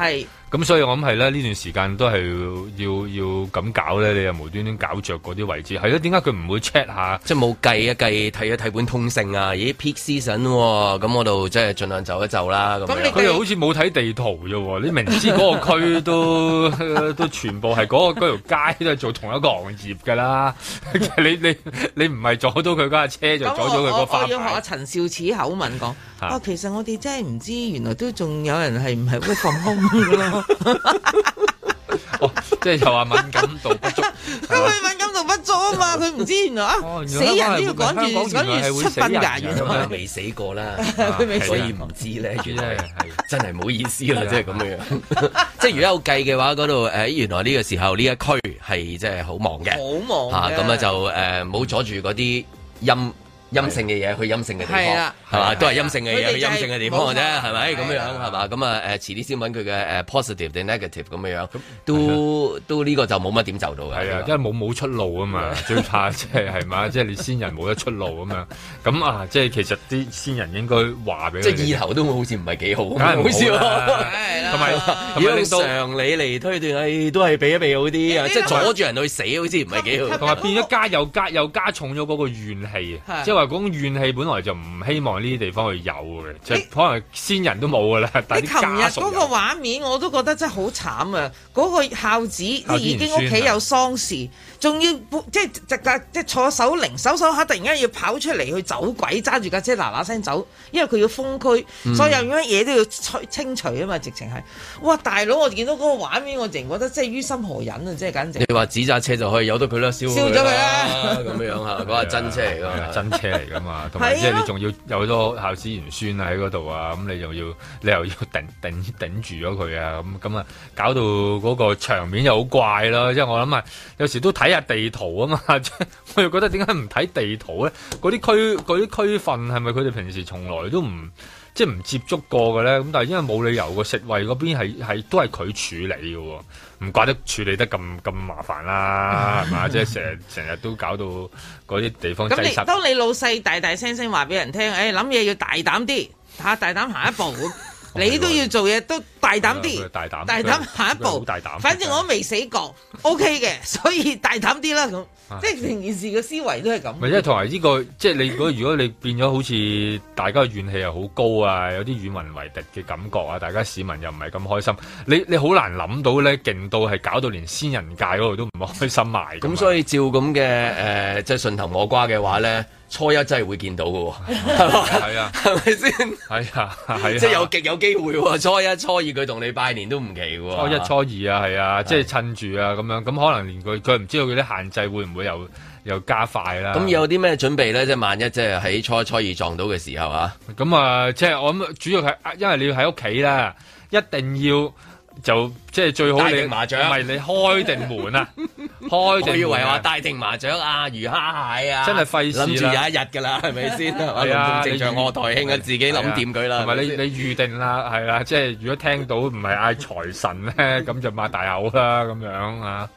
咁所以我諗係咧呢段時間都係要要咁搞咧，你又無端端搞着嗰啲位置，係咯？點解佢唔會 check 下？ 即係冇計一計睇一睇本通勝啊？咦 peak season 喎，咁我度即係盡量走一走啦。咁佢又好似冇睇地圖啫喎，你明知嗰個區都都全部係嗰、嗰個嗰條街都係做同一個行業㗎啦。你你你唔係阻到佢嗰架車，就阻咗佢個花牌。 我要學阿陳少始口吻講，啊，其實我哋真係唔知，原來都仲有人係唔係會放空㗎咯。 哦，即係又話敏感度不足， 因為敏感度不足啊嘛，佢唔知原來啊， 哦、 死人都要趕住趕住出殯㗎，原來未死過啦， 佢未所以唔知咧，原來係真係唔好意思啦，即係咁樣樣。即係如果有計嘅話，嗰度誒原來呢個時候呢一區係即係好忙嘅， 好忙嚇咁啊就誒唔好阻住嗰啲陰。陰性嘅嘢去陰性嘅地方，係嘛？都係陰性嘅嘢去陰性嘅地方嘅啫，係咪咁樣係嘛？咁啊誒，遲啲先揾佢嘅誒 positive 定 negative 咁樣樣，都都呢個就冇乜點就到嘅。 係啊，因為冇冇出路啊嘛，最怕即係係嘛，即係你先人冇得出路咁樣。咁啊，即係其實啲先人應該話俾佢。即係意頭都好似唔係幾好， 梗係唔好啦。同埋同埋令到常理嚟推斷，誒都係避一避好啲啊！即係阻住人去死，好似唔係幾好。 同埋變咗加又加又加重咗嗰個怨氣啊！即係話嗰種怨氣本來就唔希望呢啲地方去有嘅，即係可能先人都冇噶啦。但係啲家屬有。你琴日嗰個畫面我都覺得真係好慘啊！嗰個孝子即係已經屋企有喪事，仲要即係即係即係坐守靈，守守下突然間要跑出嚟去走鬼，揸住架車嗱嗱聲走，因為佢要封區，所以有乜嘢都要清除啊嘛！直情係，哇大佬！我見到嗰個畫面，我淨覺得真係於心何忍啊！即係簡直。 你話紙紮車就可以由得佢啦，燒燒咗佢啦， 咁樣樣嚇，嗰個真車嚟㗎， 真車嚟㗎嘛，同埋即係你仲要有好多孝子賢孫喺嗰度啊，咁你又要你又要頂頂頂住咗佢啊，咁咁啊，搞到嗰個場面又好怪咯。即係我諗啊，有時都睇下地圖啊嘛，我又覺得點解唔睇地圖咧？嗰啲區嗰啲區份係咪佢哋平時從來都唔即係唔接觸過嘅咧？咁但係因為冇理由個食衞嗰邊係係都係佢處理嘅喎，唔怪得處理得咁咁麻煩啦，係嘛？即係成日成日都搞到嗰啲地方擠塞。 咁你當你老細大大聲聲話俾人聽，誒諗嘢要大膽啲嚇，大膽行一步咁。你都要做嘢，都大膽啲，大膽，大膽下一步，大膽。反正我都未死過，OK 嘅，所以大膽啲啦咁。即係成件事嘅思維都係咁。 咪即係同埋呢個，即係你如果如果你變咗好似大家嘅怨氣又好高啊，有啲與民為敵嘅感覺啊，大家市民又唔係咁開心，你你好難諗到咧，勁到係搞到連先人界嗰度都唔開心埋。 咁所以照咁嘅誒，即係順藤摸瓜嘅話咧。初一真係會見到嘅喎， 係啊， 係咪先？ 係啊，係啊， 即係有極有機會喎。初一、初二佢同你拜年都唔奇嘅喎。 初一、初二啊，係啊，即係趁住啊咁樣，咁可能連佢佢唔知道佢啲限制會唔會又又加快啦。 咁有啲咩準備咧？即係萬一即係喺初一、初二撞到嘅時候啊？ 咁啊，即係我諗主要係因為你要喺屋企啦，一定要。就即係最好你麻雀， 唔係你開定門啊！開定門、啊， 我以為話帶定麻雀啊、魚蝦蟹啊， 真係費事啦！ 諗住有一日㗎啦，係咪先？係啊，正常賀台慶啊，自己諗掂佢啦。 同埋你你預定啦，係啦，即係如果聽到唔係嗌財神咧，咁就擘大口啦，咁樣啊。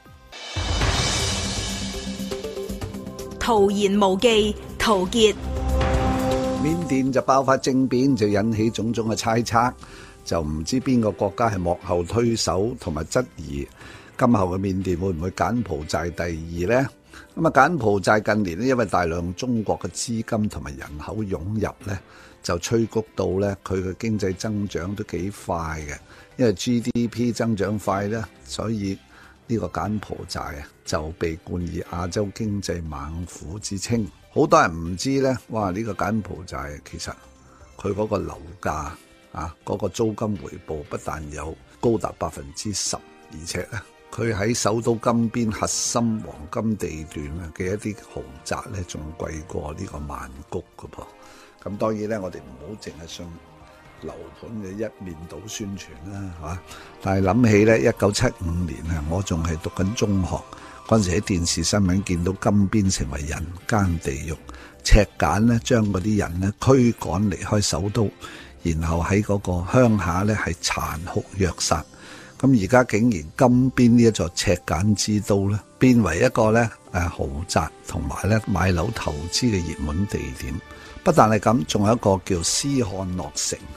徒言無忌，陶傑。 緬甸就爆發政變，就引起種種嘅猜測。就唔知邊個國家係幕後推手，同埋質疑今後嘅緬甸會唔會柬埔寨第二呢？咁啊，柬埔寨近年咧，因為大量中國嘅資金同埋人口湧入咧，就催谷到咧佢嘅經濟增長都幾快嘅。因為 G D P 增長快咧，所以呢個柬埔寨啊就被冠以亞洲經濟猛虎之稱。好多人唔知咧，哇！呢個柬埔寨其實佢嗰個樓價。啊！嗰、那個租金回報不但有高達百分之十，而且咧，佢喺首都金邊核心黃金地段啊嘅一啲豪宅咧，仲貴過呢個曼谷㗎噃。咁當然咧，我哋唔好淨係信樓盤嘅一面倒宣傳啦，係嘛？但係諗起咧，一九七五年啊，我仲係讀緊中學嗰陣時，喺電視新聞見到金邊成為人間地獄，赤柬咧將嗰啲人咧驅趕離開首都。然後喺嗰個鄉下咧係殘酷虐殺，咁而家竟然金邊呢一座赤柬之都咧，變為一個咧誒豪宅同埋咧買樓投資嘅熱門地點。不但係咁，仲有一個叫斯漢諾城，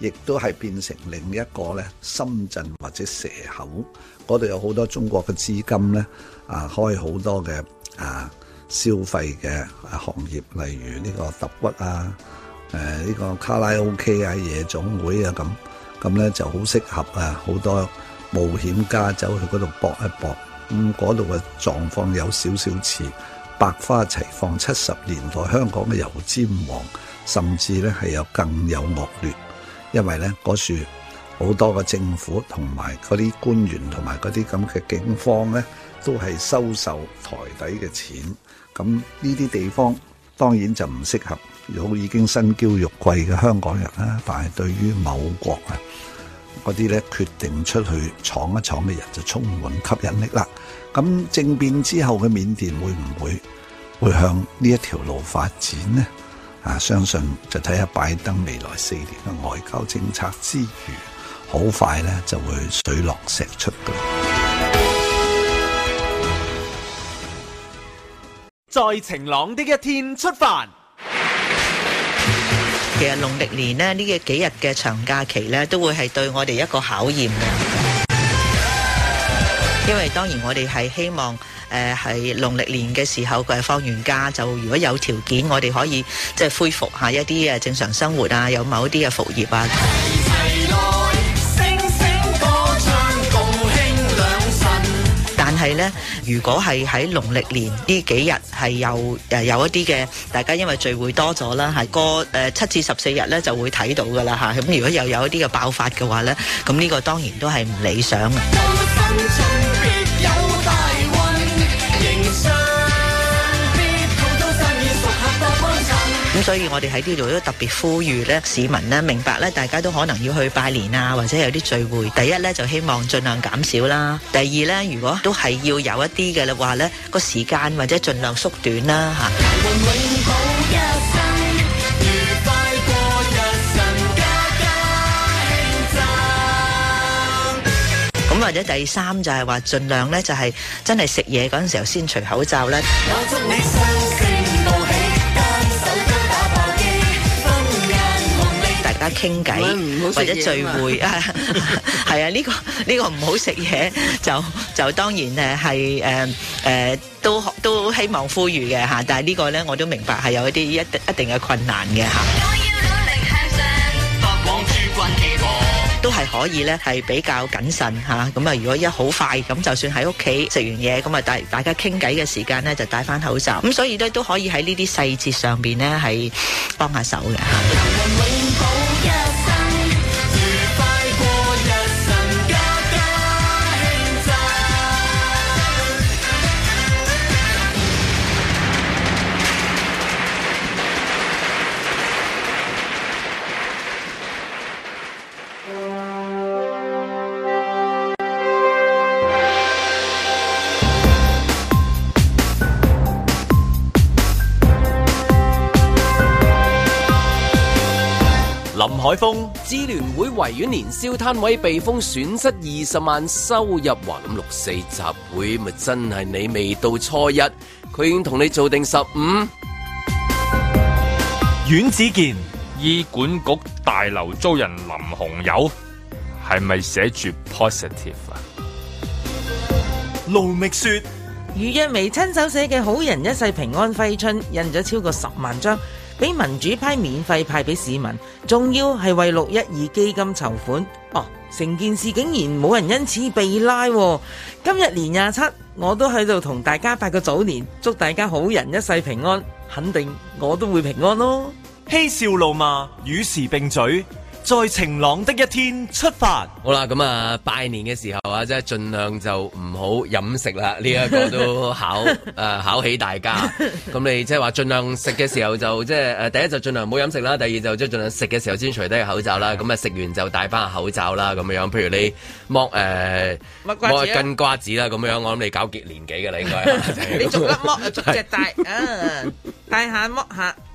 亦都係變成另一個咧深圳或者蛇口，嗰度有好多中國嘅資金咧，啊開好多嘅啊消費嘅行業，例如呢個揼骨啊，誒、啊、呢、呢個卡拉 OK 啊、夜總會啊咁，咁咧就好適合啊好多冒險家走去嗰度搏一搏。咁嗰度嘅狀況有少少似百花齊放七十年代香港嘅油尖旺，甚至咧係有更有惡劣，因為咧嗰處好多嘅政府同埋嗰啲官員同埋嗰啲咁嘅警方咧，都係收受台底嘅錢。咁呢啲地方當然就唔適合有已經身嬌肉貴嘅香港人啦，但係對於某國啊嗰啲咧決定出去闖一闖嘅人就充滿吸引力啦。咁政變之後嘅緬甸會唔會會向呢一條路發展呢？啊，相信就睇下拜登未來四年嘅外交政策之餘，好快咧就會水落石出嘅。 在晴朗的一天出發。 其實農曆年呢，呢幾日嘅長假期呢，都會係對我哋一個考驗嘅，因為當然我哋係希望誒係農曆年嘅時候佢係放完假，就如果有條件，我哋可以即係恢復下一啲誒正常生活啊，有某一啲嘅復業啊。但係咧，如果係喺農曆年呢幾日係有誒有一啲嘅，大家因為聚會多咗啦，係過誒七至十四日咧就會睇到噶啦嚇。咁如果又有一啲嘅爆發嘅話咧，咁呢個當然都係唔理想嘅。咁所以我哋喺呢度都特別呼籲咧，市民咧明白咧，大家都可能要去拜年啊，或者有啲聚會。第一咧就希望盡量減少啦。第二咧，如果都係要有一啲嘅話咧，個時間或者盡量縮短啦嚇。咁或者第三就係話盡量咧就係真係食嘢嗰陣時候先除口罩咧。大家傾偈或者聚會啊，係啊，呢個呢個唔好食嘢，就就當然誒係誒誒都都希望呼籲嘅嚇，但係呢個咧我都明白係有一啲一一定嘅困難嘅嚇。都係可以咧，係比較謹慎嚇。咁啊，如果一好快咁，就算喺屋企食完嘢，咁啊大大家傾偈嘅時間咧，就戴翻口罩。咁所以咧都可以喺呢啲細節上邊咧係幫下手嘅嚇。 林海峰， 支聯會維園年宵攤位被封，損失二十萬收入，話咁六四集會咪真係你未到初一，佢已經同你做定十五。 阮子健， 醫管局大樓遭人淋紅油，係咪寫住 positive 啊？ 盧覓雪， 余若薇親手寫嘅《好人一世平安揮春》印咗超過十萬張，俾民主派免費派俾市民，仲要係為六一二基金籌款。哦，成件事竟然冇人因此被拉。今日年廿七，我都喺度同大家拜個早年，祝大家好人一世平安，肯定我都會平安咯。 嬉笑怒罵，與時並舉，在晴朗的一天出發。 好啦，咁啊拜年嘅時候啊，即係盡量就唔好飲食啦。呢、這、一個都考誒、呃、考起大家。咁你即係話盡量食嘅時候就即係誒，第一就盡量唔好飲食啦。第二就即係盡量食嘅時候先除低個口罩啦。咁啊食完就戴翻個口罩啦。咁樣，譬如你剝誒剝一根瓜子啦，咁樣我諗你搞幾年紀㗎啦，應該。 你逐粒剝，逐隻戴啊，戴下剝下。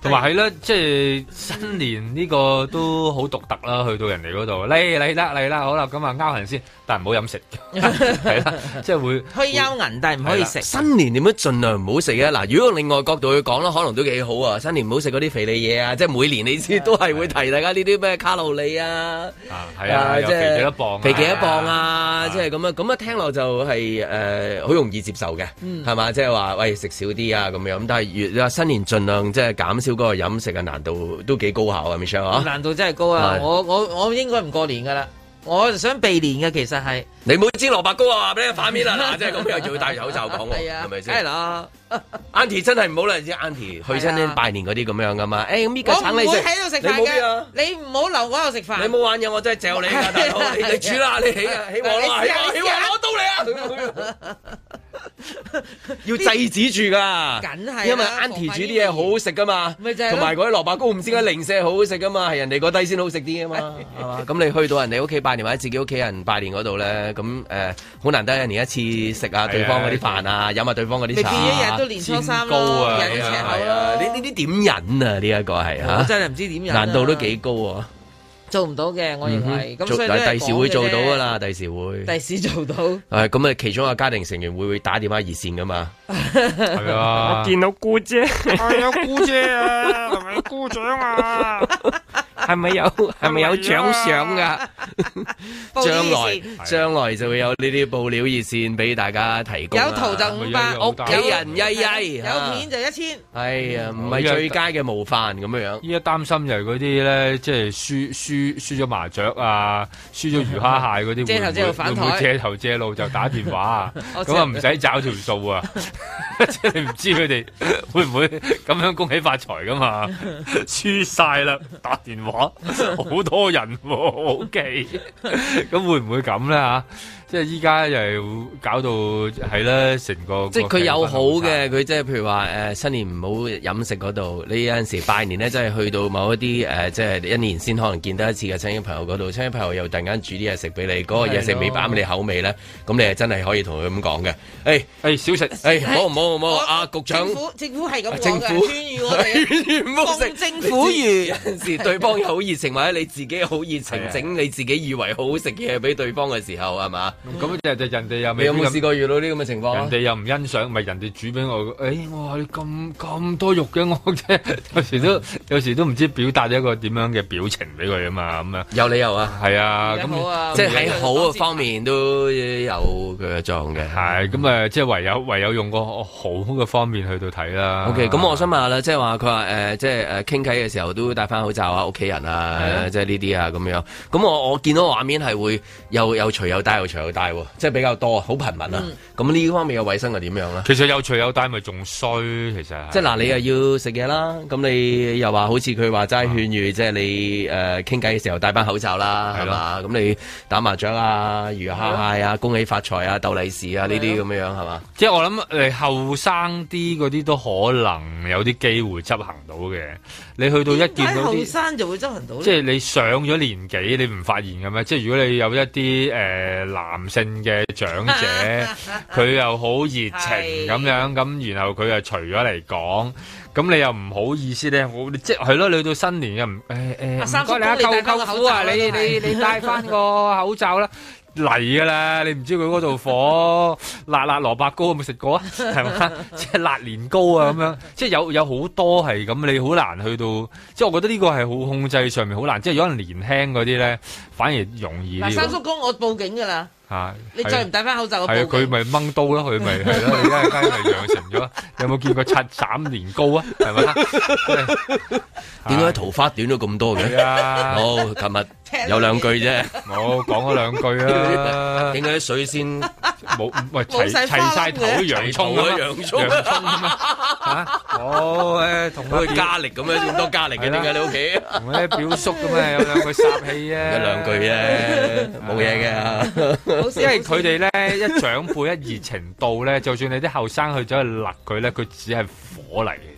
同埋係啦，即係新年呢個都好獨特啦，去到人哋嗰度，嚟嚟啦嚟啦，好啦，咁啊勾痕先，但係唔好飲食，係啦，即係會可以勾銀，但係唔可以食。 新年點樣盡量唔好食嘅？嗱，如果另外角度去講啦，可能都幾好啊。新年唔好食嗰啲肥膩嘢啊，即係每年你知都係會提大家呢啲咩卡路里啊， 係啊，即係肥幾多磅， 肥幾多磅啊，即係咁樣咁啊，聽落就係誒好容易接受嘅，係嘛？即係話喂食少啲啊咁樣，咁但係越話新年盡量即係減少嗰個飲食嘅難度都幾高效啊 Michelle 啊， 難度真係高啊！我我我應該唔過年噶啦。我就想避年嘅，其實係你冇煎蘿蔔糕啊！話俾你反面啦，嗱，即係咁又要戴住口罩講喎，係咪先？ 係啦 ，Auntie 真係唔好啦，知 Auntie 去親啲拜年嗰啲咁樣噶嘛？誒，咁呢個橙你食， 我唔會喺度食飯嘅，你唔好留我喺度食飯。 你冇玩嘢，我真係嚼你㗎，大佬！你你煮啦，你起啊，起鑊啦，起鑊起鑊攞刀嚟啊！要制止住噶， 梗係， 因為 Auntie 煮啲嘢好好食噶嘛，同埋嗰啲蘿蔔糕唔知點解零舍好好食噶嘛，係人哋嗰低先好食啲啊嘛，係嘛？咁你去到人哋屋企拜年或者自己屋企人拜年嗰度咧，咁誒好難得一年一次食下對方嗰啲飯啊，飲下對方嗰啲茶， 你一日都年初三糕啊， 人赤口咯， 呢呢啲點忍啊？呢一個係嚇， 我真係唔知點忍， 難度都幾高啊！ 做唔到嘅，我認為咁，所以第時會做到噶啦，第時會， 第時做到。 係咁啊，其中一個家庭成員會會打電話熱線噶嘛？ 係啊， 我見到姑姐，係有姑姐啊，係咪姑丈啊？係咪有係咪有獎賞噶？ 將來將來就會有呢啲報料熱線俾大家提供。 有圖就五百， 屋企人曳曳， 有片就一千。 係啊，唔係最佳嘅模範咁樣樣。 依家擔心就係嗰啲咧，即係輸輸輸咗麻雀啊，輸咗魚蝦蟹嗰啲， 借頭借路反台， 會唔會借頭借路就打電話啊？咁啊唔使找條數啊！即係你唔知佢哋會唔會咁樣恭喜發財噶嘛？輸晒啦，打電話。好多人喎，O K，咁會唔會咁咧嚇？即係依家又係搞到係啦，成個即係佢有好嘅，佢即係譬如話誒新年唔好飲食嗰度，你有陣時拜年咧，真係去到某一啲誒，即係一年先可能見得一次嘅親戚朋友嗰度，親戚朋友又突然間煮啲嘢食俾你，嗰個嘢食未啱你口味咧，咁你係真係可以同佢咁講嘅。誒誒少食， 誒唔好唔好唔好，阿局長， 政府政府係咁講嘅， 政府勸喻我哋唔好食政府語。 有陣時對方又好熱情，或者你自己好熱情，整你自己以為好好食嘅嘢俾對方嘅時候，係嘛？ 咁就就人哋又未有冇試過遇到啲咁嘅情況？ 人哋又唔欣賞，咪人哋煮俾我。誒，我話你咁咁多肉嘅，我即係有時都有時都唔知表達一個點樣嘅表情俾佢啊嘛，咁樣有理由啊， 係啊，咁即係喺好嘅方面都有佢嘅作用嘅。 係咁啊，即係唯有唯有用個好嘅方面去到睇啦。 OK，咁我想問下啦，即係話佢話誒，即係誒傾偈嘅時候都戴翻口罩啊，屋企人啊，即係呢啲啊咁樣。咁我我見到畫面係會又又除又戴又除又戴喎。即係比較多，好頻密啊！咁呢、嗯、方面嘅衞生係點樣咧？ 其實有除有戴咪仲衰，其實即係嗱，你又要食嘢啦，咁你又話好似佢話齋勸喻，即係你誒傾偈嘅時候戴翻口罩啦，係嘛？咁你打麻雀啊、魚蝦蟹啊、恭喜發財啊、鬥利是啊呢啲咁樣係嘛？ 即係我諗誒後生啲嗰啲都可能有啲機會執行到嘅。你去到一見到啲後生就會執行到， 即係你上咗年紀，你唔發現嘅咩？即係如果你有一啲誒、呃、男性嘅長者，佢又好熱情咁樣，咁然後佢又除咗嚟講，咁你又唔好意思咧，我即係咯，你到新年又唔誒誒，唔該你啊，舅舅父啊，你你你戴翻個口罩啦。嚟噶啦！你唔知佢嗰度火辣辣蘿蔔糕有冇食過啊？係嘛？即係辣年糕啊咁樣，即係有有好多係咁，你好難去到。即係我覺得呢個係好控制上面好難。即係有人年輕嗰啲咧，反而容易啲。 嗱，三叔公，我報警噶啦！ 嚇！ 你再唔戴翻口罩，我報警。 係佢咪掹刀咯？佢咪係咯？你而家而家咪養成咗。有冇見過拆斬年糕啊？係咪？ 點解桃花短咗咁多嘅？好，琴日有兩句啫， 我講咗兩句啦。 點解啲水仙冇喂齊齊曬頭啲洋葱啊？洋葱洋葱啊？嚇！我誒同佢加力咁樣咁多加力嘅，點解你屋企？同啲表叔咁啊，有兩句煞氣啊！ 一兩句啫，冇嘢嘅。 因為佢哋咧一長輩一熱情到咧，就算你啲後生去走去勒佢咧，佢只係火嚟嘅。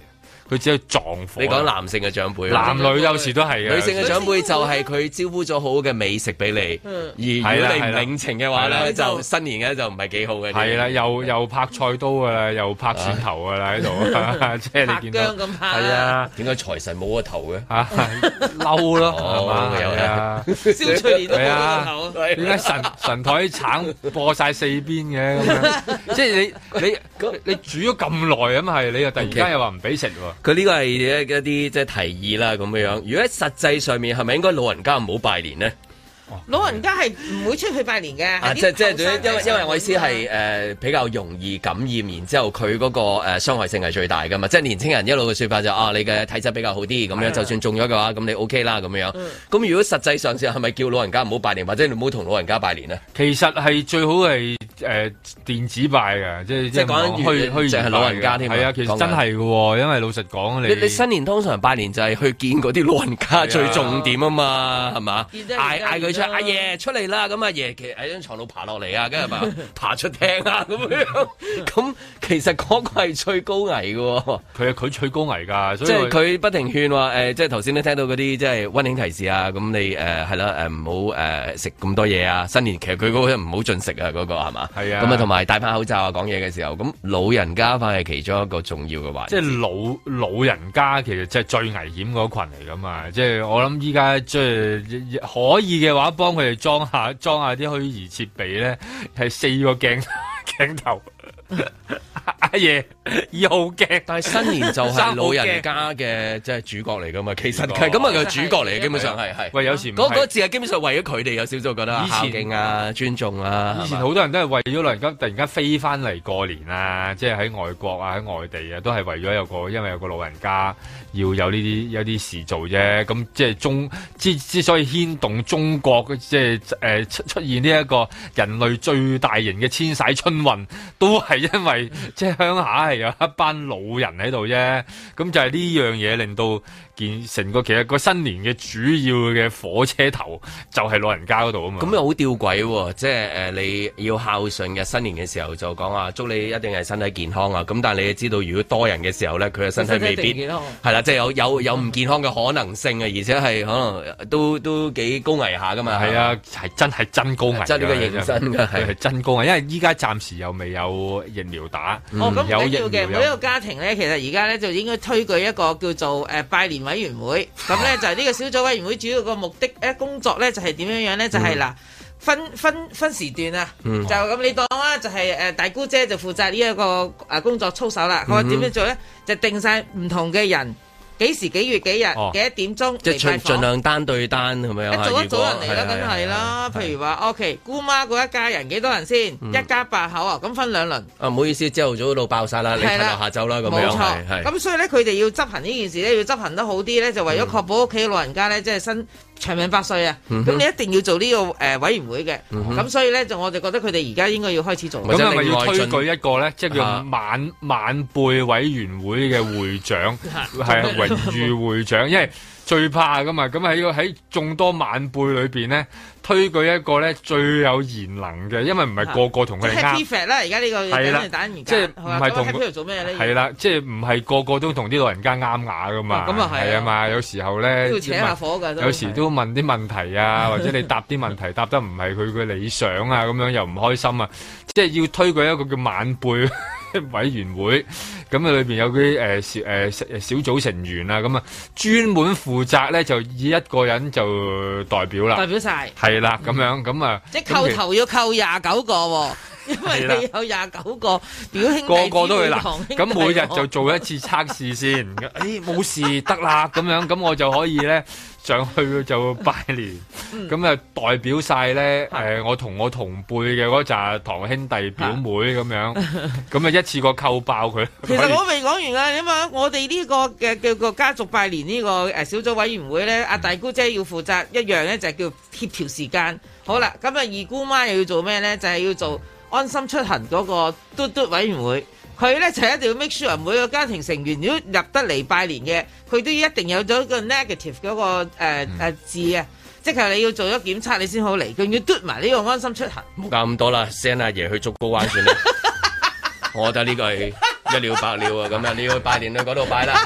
佢只係撞火。 你講男性嘅長輩， 男女有時都係嘅。 女性嘅長輩就係佢招呼咗好好嘅美食俾你，而如果你唔領情嘅話咧，就新年嘅就唔係幾好嘅。 係啦，又又拍菜刀噶啦，又拍蒜頭噶啦喺度，即係你見到。 咁拍。 係啊， 點解財神冇個頭嘅？ 嚇，嬲咯，係嘛？係啊， 蕭翠蓮都冇個頭。 點解神神台橙播晒四邊嘅咁樣？即係你你你煮咗咁耐咁係，你又突然間又話唔俾食喎？ 佢呢個係一一啲即係提議啦咁樣。如果喺實際上面係咪應該老人家唔好拜年呢？ 老人家係唔會出去拜年嘅。 啊，即即係因為因為我意思係誒、呃、比較容易感染，然之後佢嗰、那個誒、呃、傷害性係最大㗎嘛。即係年青人一路嘅説法就是、啊，你嘅體質比較好啲，咁樣就算中咗嘅話，咁你 OK 啦咁樣。咁、嗯、如果實際上係咪叫老人家唔好拜年，或者你唔好同老人家拜年呢？ 其實係最好係誒、呃、電子拜嘅，即係即係講虛虛就係老人家添。 係啊，其實真係嘅喎，因為老實講，你你新年通常拜年就係去見嗰啲老人家最重點啊嘛，係嘛？嗌嗌佢出阿爺出嚟啦，咁阿爺其實喺張床度爬落嚟啊，跟住嘛爬出廳啊咁樣。咁其實嗰個係最高危嘅喎。 佢係佢最高危㗎， 即係佢不停勸話誒，即係頭先都聽到嗰啲即係溫馨提示啊。咁你誒係啦誒，唔好誒食咁多嘢啊。新年其實佢嗰個唔好進食啊，嗰個係嘛？係啊。咁啊同埋戴翻口罩啊，講嘢嘅時候，咁老人家反而係其中一個重要嘅環節。 即係老老人家其實即係最危險嗰群嚟㗎嘛。即係我諗依家即係可以嘅話，幫佢哋裝下裝下啲虛擬設備咧，係四個鏡鏡頭。阿爺二號鏡， 但係新年就係老人家嘅即係主角嚟噶嘛，其實係咁啊，佢主角嚟，基本上係係。 喂，有時嗰嗰個字係基本上為咗佢哋，有少少覺得孝敬啊、尊重啊。 以前好多人都係為咗老人家突然間飛翻嚟過年啊，即係喺外國啊、喺外地啊，都係為咗有個因為有個老人家要有呢啲有啲事做啫。咁即係中之之所以牽動中國即係誒出出現呢一個人類最大型嘅遷徙春運，都係因為即係鄉下係有一班老人喺度啫，咁就係呢樣嘢令到件成個其實個新年嘅主要嘅火車頭就係老人家嗰度啊嘛。 咁又好吊詭喎，即係誒、呃、你要孝順嘅新年嘅時候就講話祝你一定係身體健康啊。咁但係你要知道，如果多人嘅時候咧，佢嘅身體未必係啦，即係有有有唔健康嘅可能性啊，而且係可能都都幾高危下噶嘛。 係啊，係真係真高危， 即係呢個認真嘅係真高危，因為依家暫時又未有疫苗打。 嗯、哦，咁唔緊要嘅，每一個家庭咧，其實而家咧就應該推舉一個叫做誒、呃、拜年委員會，咁咧就係呢個小組委員會主要個目的咧工作咧就係點樣樣咧，就係、是、嗱、嗯、分分分時段啊，嗯、就咁你當啦，就係誒大姑姐就負責呢一個誒工作操守啦，佢話點樣做咧，就定晒唔同嘅人。幾時幾月幾日幾多點鐘即係盡盡量單對單係咪啊？ 一組一組人嚟啦，梗係啦。譬如話，OK，姑媽嗰一家人幾多人先？嗯、一家八口啊，咁分兩輪。啊， 唔好意思，朝頭早到爆晒啦，你瞓到下晝啦，咁樣。冇錯。 咁所以咧，佢哋要執行呢件事咧，要執行得好啲咧，就為咗確保屋企老人家咧，即係身長命百歲啊！咁、嗯、你一定要做呢、這個誒、呃、委員會嘅。咁、嗯、所以咧，就我哋覺得佢哋而家應該要開始做。 咁係咪要推舉一個咧，即係叫晚晚輩委員會嘅會長，係榮譽會長。因為最怕噶嘛，咁喺個喺眾多晚輩裏邊咧，推舉一個咧最有賢能嘅，因為唔係個個同佢哋啱。即係 P 啦，而家呢個係啦，即係唔係同佢做咩咧？係啦，即係唔係個個都同啲老人家啱牙噶嘛？咁啊係啊嘛，有時候咧要扯下火噶， 有時都問啲問題啊，或者你答啲問題答得唔係佢嘅理想啊，咁樣又唔開心啊，即係要推舉一個叫晚輩委員會，咁啊裏邊有啲誒小誒小組成員啊，咁啊專門負責咧就以一個人就代表啦， 代表晒係啦，咁樣咁啊， 即係扣頭要扣廿九個喎，因為你有廿九個表兄弟， 個個都去嗱，咁每日就做一次測試先，誒冇事得啦，咁樣咁我就可以咧上去就拜年，咁啊代表晒咧誒我同我同輩嘅嗰扎堂兄弟表妹咁樣，咁啊一次過扣爆佢。 其實我未講完啊，因為我哋呢個嘅叫個家族拜年呢個誒小組委員會咧，阿大姑姐要負責一樣咧，就係叫協調時間。好啦，咁啊二姑媽又要做咩咧？就係要做安心出行嗰個嘟嘟委員會。佢咧就一定要 make sure 每個家庭成員如果入得嚟拜年嘅，佢都一定有咗個 negative 嗰、那個誒誒、呃嗯、字啊，即係你要做咗檢測你先好嚟，佢要嘟埋呢個安心出行。 冇咁多啦 ，send 阿爺去竹篙灣算啦。我覺得呢個係一了百了啊，咁啊你要去拜年去嗰度拜啦嚇。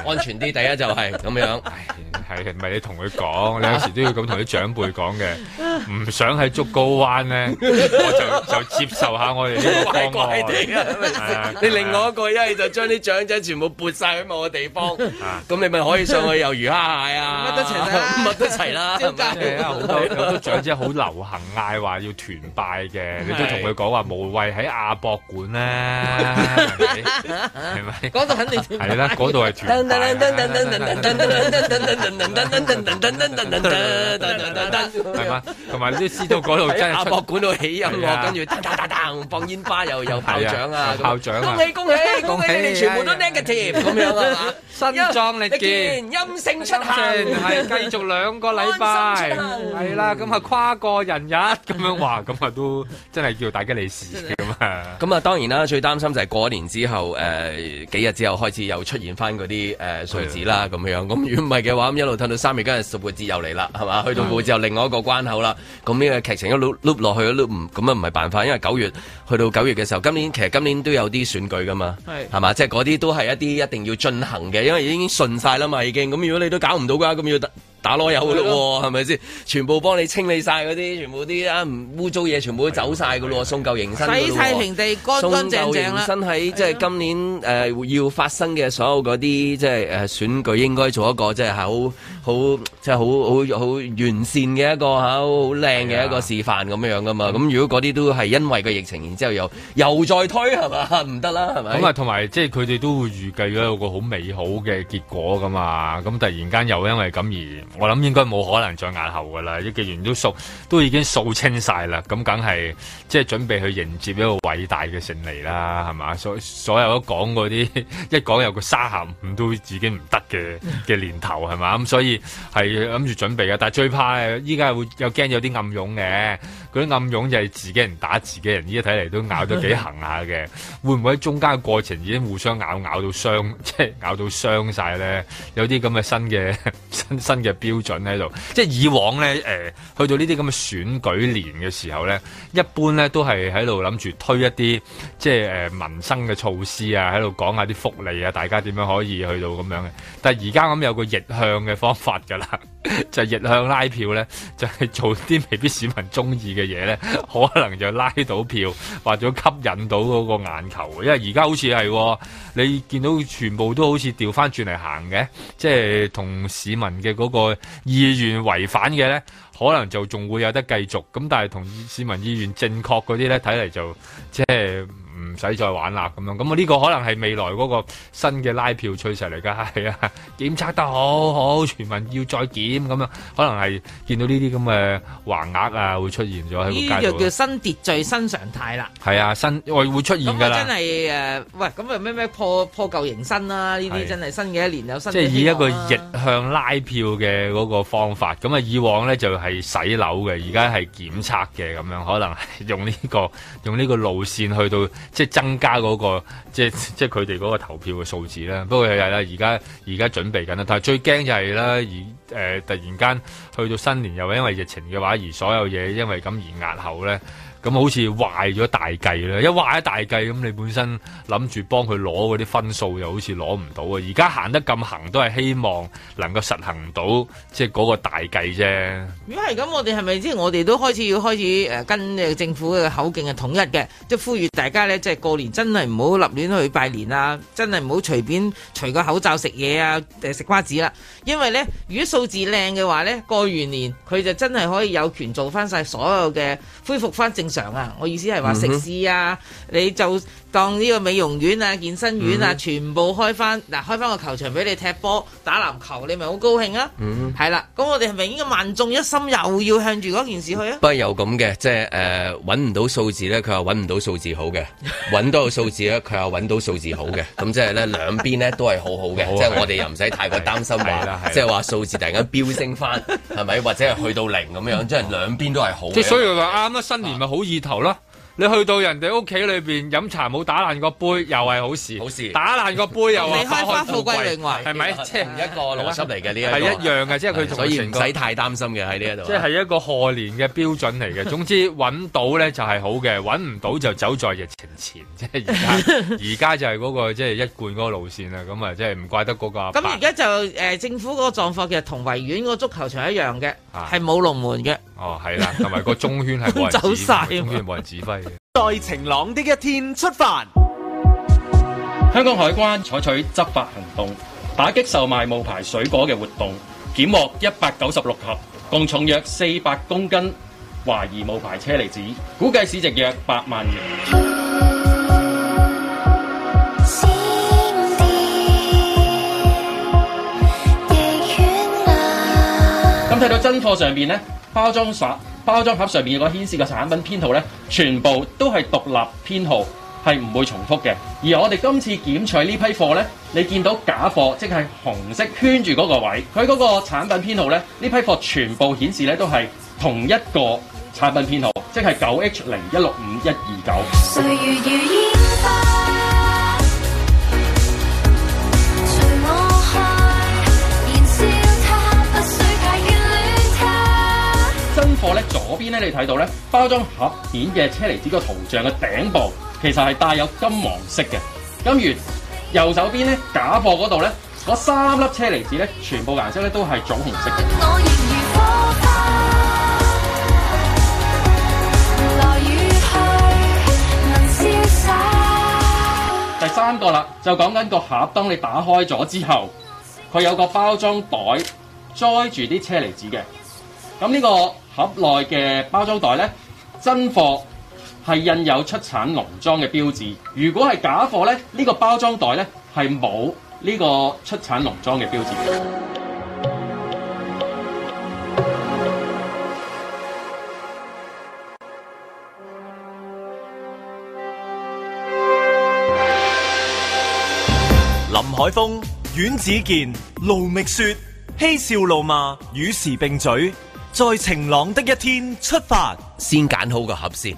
安全啲。第一就係咁樣， 係咪你同佢講？你有時都要咁同啲長輩講嘅，唔想喺竹篙灣咧，我就就接受下我哋呢個方案。怪怪地啊！ 你另外一個一係就將啲長者全部撥晒去某個地方，咁你咪可以上去遊魚蝦蟹啊，乜都齊啦，乜都齊啦。 好多好多長者好流行嗌話要團拜嘅，你都同佢講話無謂喺亞博館啦，係咪？嗰度肯定係啦，嗰度係團拜。係嘛？同埋你都知道嗰度真係亞博館度起音樂，跟住噔噔噔噔放煙花，又又炮仗啊！ 炮仗啊！ 恭喜恭喜恭喜！你哋全部都 negative 咁樣啊！ 身壯力健， 陰性出行， 係繼續兩個禮拜，係啦，咁啊跨過人日咁樣話，咁啊都真係叫大吉利是咁啊！ 咁啊當然啦，最擔心就係過年之後誒幾日之後開始又出現翻嗰啲誒數字啦咁樣。咁如果唔係嘅話，咁一路褪到三月，今日復活節又嚟啦，係嘛？去到復活節又另外一個關口啦。咁呢個劇情一路碌落去，碌唔咁啊唔係辦法，因為九月去到九月嘅時候，今年其實今年都有啲選舉噶嘛，係嘛？即係嗰啲都係一啲一定要進行嘅，因為已經順晒啦嘛，已經。咁如果你都搞唔到嘅話，咁要打打籮柚嘅咯，係咪先？全部幫你清理晒嗰啲，全部啲啊唔污糟嘢，全部都走晒嘅咯，送舊迎新， 洗晒平地，乾乾淨淨啦。 送舊迎新喺即係今年誒、呃、要發生嘅所有嗰啲即係誒選舉，應該做一個即係好好即係好好好完善嘅一個嚇好靚嘅一個示範咁樣噶嘛。咁、嗯、如果嗰啲都係因為個疫情，然之後又又再推係嘛？唔得啦係咪？ 咁啊，同埋即係佢哋都會預計咗有個好美好嘅結果噶嘛。咁突然間又因為咁而我諗應該冇可能再押後噶啦，既然都掃都已經掃清晒啦，咁梗係即係準備去迎接一個偉大嘅勝利啦，係嘛？所所有都講嗰啲一講有個沙咸五都已經唔得嘅嘅年頭係嘛？咁所以係諗住準備嘅，但係最怕依家會有驚有啲暗湧嘅，嗰啲暗湧就係自己人打自己人，依家睇嚟都咬得幾行下嘅，會唔會喺中間嘅過程已經互相咬咬到傷，即係咬到傷晒咧？有啲咁嘅新嘅新新嘅標準喺度，即係以往咧，誒、呃，去到呢啲咁嘅選舉年嘅時候咧，一般咧都係喺度諗住推一啲即係誒、呃、民生嘅措施啊，喺度講下啲福利啊，大家點樣可以去到咁樣嘅。但係而家咁有個逆向嘅方法㗎啦，就係逆向拉票咧，就係、是、做啲未必市民中意嘅嘢咧，可能就拉到票或者吸引到嗰個眼球。因為而家好似係你見到全部都好似調翻轉嚟行嘅，即係同市民嘅嗰個意願違反嘅咧，可能就仲會有得繼續。咁但係同市民意願正確嗰啲咧，睇嚟就即係唔使再玩啦咁樣。咁啊呢個可能係未來嗰個新嘅拉票趨勢嚟㗎，係啊，檢測得好好，全民要再檢咁樣，可能係見到呢啲咁嘅橫額啊會出現咗喺個街度。呢個叫新秩序、新常態啦。 係啊，新會會出現㗎啦。 咁真係誒、呃，喂，咁啊咩咩破破舊迎新啦？呢啲真係新嘅一年有新嘅希望。 即係以一個逆向拉票嘅嗰個方法，咁啊以往咧就係洗樓嘅，而家係檢測嘅咁樣，可能係用呢個用呢個路線去到。即係增加嗰、那個，即係即係佢哋嗰個投票嘅數字啦。不過係啦，而家而家準備緊啦。但係最驚就係啦，而誒、呃、突然間去到新年，又因為疫情嘅話，而所有嘢因為咁而押後咧。咁好似壞咗大計啦！一壞咗大計，咁你本身諗住幫佢攞嗰啲分數，又好似攞唔到啊！而家行得咁行，都係希望能夠實行到即係嗰個大計啫。 如果係咁，我哋係咪即係我哋都開始要開始誒跟政府嘅口徑係統一嘅，即係呼籲大家咧，即係過年真係唔好立亂去拜年啊！真係唔好隨便除個口罩食嘢啊，誒食瓜子啦。因為咧，如果數字靚嘅話咧，過完年佢就真係可以有權做翻晒所有嘅恢復翻正常啊！我意思係話食肆啊，你就當呢個美容院啊、健身院啊，嗯、全部開翻嗱，開翻個球場俾你踢波、打籃球，你咪好高興啊！嗯，係啦，咁我哋係咪應該萬眾一心，又要向住嗰件事去啊？ 不過有咁嘅，即係誒揾唔到數字咧，佢話揾唔到數字好嘅；揾到個數字咧，佢話揾到數字好嘅。咁即係咧兩邊咧都係好好嘅，即係我哋又唔使太過擔心話，即係話數字突然間飆升翻，係咪？或者係去到零咁樣，即係兩邊都係好嘅。 即係所以話啱啦，新年咪好意頭咯。 你去到人哋屋企裏邊飲茶冇打爛個杯，又係好事。 好事， 打爛個杯又離開花富貴榮華， 係咪？即係一個邏輯嚟嘅呢一個係一樣嘅，即係佢同所以唔使太擔心嘅喺呢一度。 即係一個賀年嘅標準嚟嘅。總之揾到咧就係好嘅，揾唔到就走在疫情前。即係而家而家就係嗰個即係一貫嗰個路線啦。咁啊，即係唔怪得嗰個。 咁而家就誒政府嗰個狀況其實同維園嗰個足球場一樣嘅，係冇龍門嘅。 哦，係啦，同埋個中圈係冇人指揮，走中圈冇人指揮嘅。 在晴朗的一天出發。 香港海關採取執法行動，打擊售賣冒牌水果嘅活動，檢獲一百九十六盒，共重約四百公斤懷疑冒牌車厘子，估計市值約八萬元。咁睇到真貨上邊呢，包裝盒包裝盒上面個顯示嘅產品編號呢，全部都係獨立編號，係唔會重複嘅。而我哋今次檢取呢批貨呢，你見到假貨，即係紅色圈住嗰個位，佢嗰個產品編號呢，呢批貨全部顯示呢都係同一個產品編號，即係九 H 零一六五一二九。真貨咧，左邊咧你睇到咧，包裝盒面嘅車厘子個圖像嘅頂部其實係帶有金黃色嘅。咁如右手邊咧，假貨嗰度咧，嗰三粒車厘子咧，全部顏色咧都係棗紅色嘅。第三個啦，就講緊個盒，當你打開咗之後，佢有個包裝袋載住啲車厘子嘅。咁呢個盒內嘅包裝袋呢，真貨係印有出產農莊嘅標誌。如果係假貨呢，呢、呢個包裝袋呢係冇呢個出產農莊嘅標誌嘅。 林海峰、阮子健、盧覓雪，嬉笑怒罵，與時並舉。在晴朗的一天出發， 先揀好個盒先。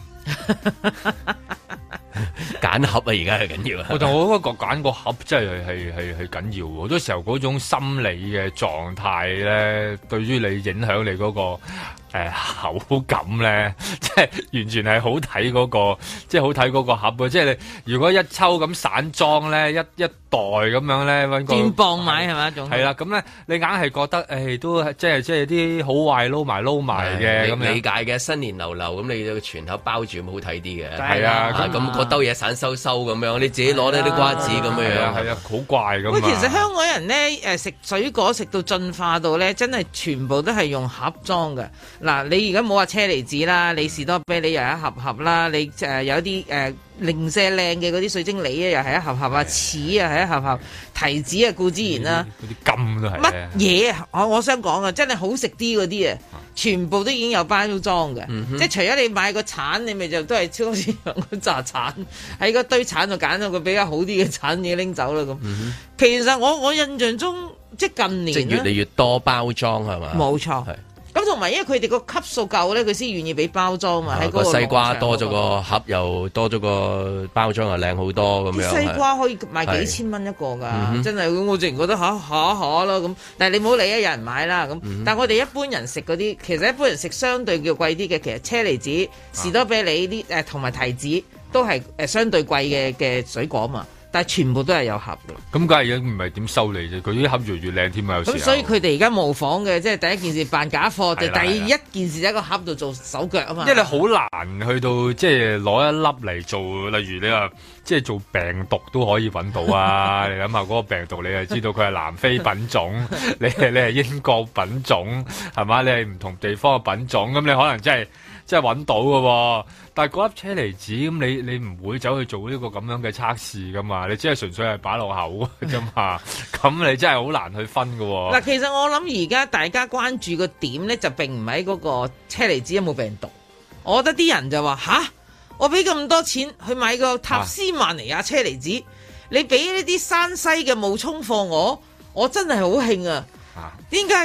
揀盒啊，而家係緊要啊！ 我同我覺得揀個盒真係係係係緊要。好多時候嗰種心理嘅狀態咧，對於你影響你嗰、嗰個誒、呃、口感咧，即係完全係好睇嗰、嗰個，即係好睇嗰個盒啊！即係你如果一抽咁散裝咧，一一袋咁樣咧，揾個斷磅買係咪一種？ 係啦，咁咧你硬係覺得誒、哎、都係即係即係啲好壞撈埋撈埋嘅咁理解嘅新年流流咁，你個全盒包住咁好睇啲嘅。 係啊， 咁嗰兜嘢散收收咁樣，你自己攞呢啲瓜子咁樣樣， 係啊，好怪咁。 喂，其實香港人咧誒食水果食到進化到咧，真係全部都係用盒裝嘅。嗱，你而家冇話車厘子啦，你士多啤梨又一盒盒啦，你誒、呃、有啲誒、呃、零舍靚嘅嗰啲水晶梨啊，又係一盒盒啊，柿啊係一盒盒，提子啊固之然啦， 嗰啲金都係乜嘢啊？我我想講啊，真係好食啲嗰啲啊！全部都已經有包裝嘅，嗯、即係除咗你買個橙，你咪就都係超市用嗰扎橙，喺個堆橙度揀到個比較好啲嘅橙嘢拎走啦咁。嗯、其實我我印象中即係近年即係越嚟越多包裝係嘛？ 冇錯。咁同埋因為佢哋個級數夠咧，佢先願意俾包裝嘛。喺、啊、個西瓜多咗個盒，又多咗個包裝又靚好多咁樣。 西瓜可以賣幾千蚊一個㗎，嗯、真係我自然覺得嚇嚇嚇啦咁。但係你唔好理啊，有人買啦咁。嗯、但係我哋一般人食嗰啲，其實一般人食相對叫貴啲嘅，其實車厘子、士多啤梨啲誒同埋提子都係誒相對貴嘅嘅水果嘛。但係全部都係有盒嘅， 咁梗係已經唔係點收你啫？佢啲盒越嚟越靚添啊！有時咁所以佢哋而家模仿嘅，即係第一件事扮假貨，就第一件事喺個盒度做手腳啊嘛。 因為你好難去到即係攞一粒嚟做，例如你話即係做病毒都可以揾到啊！你諗下嗰個病毒，你係知道佢係南非品種，你係你係英國品種，係嘛？你係唔同地方嘅品種，咁你可能真係。即係揾到嘅喎，但係嗰粒車厘子咁，你你唔會走去做呢個咁樣嘅測試噶嘛？你只係純粹係擺落口啫嘛，咁你真係好難去分嘅喎。 嗱，其實我諗而家大家關注個點咧，就並唔喺嗰個車厘子有冇病毒。我覺得啲人就話吓，我俾咁多錢去買個塔斯曼尼亞車厘子，啊、你俾呢啲山西嘅冒充貨我，我真係好興啊！點解㗎？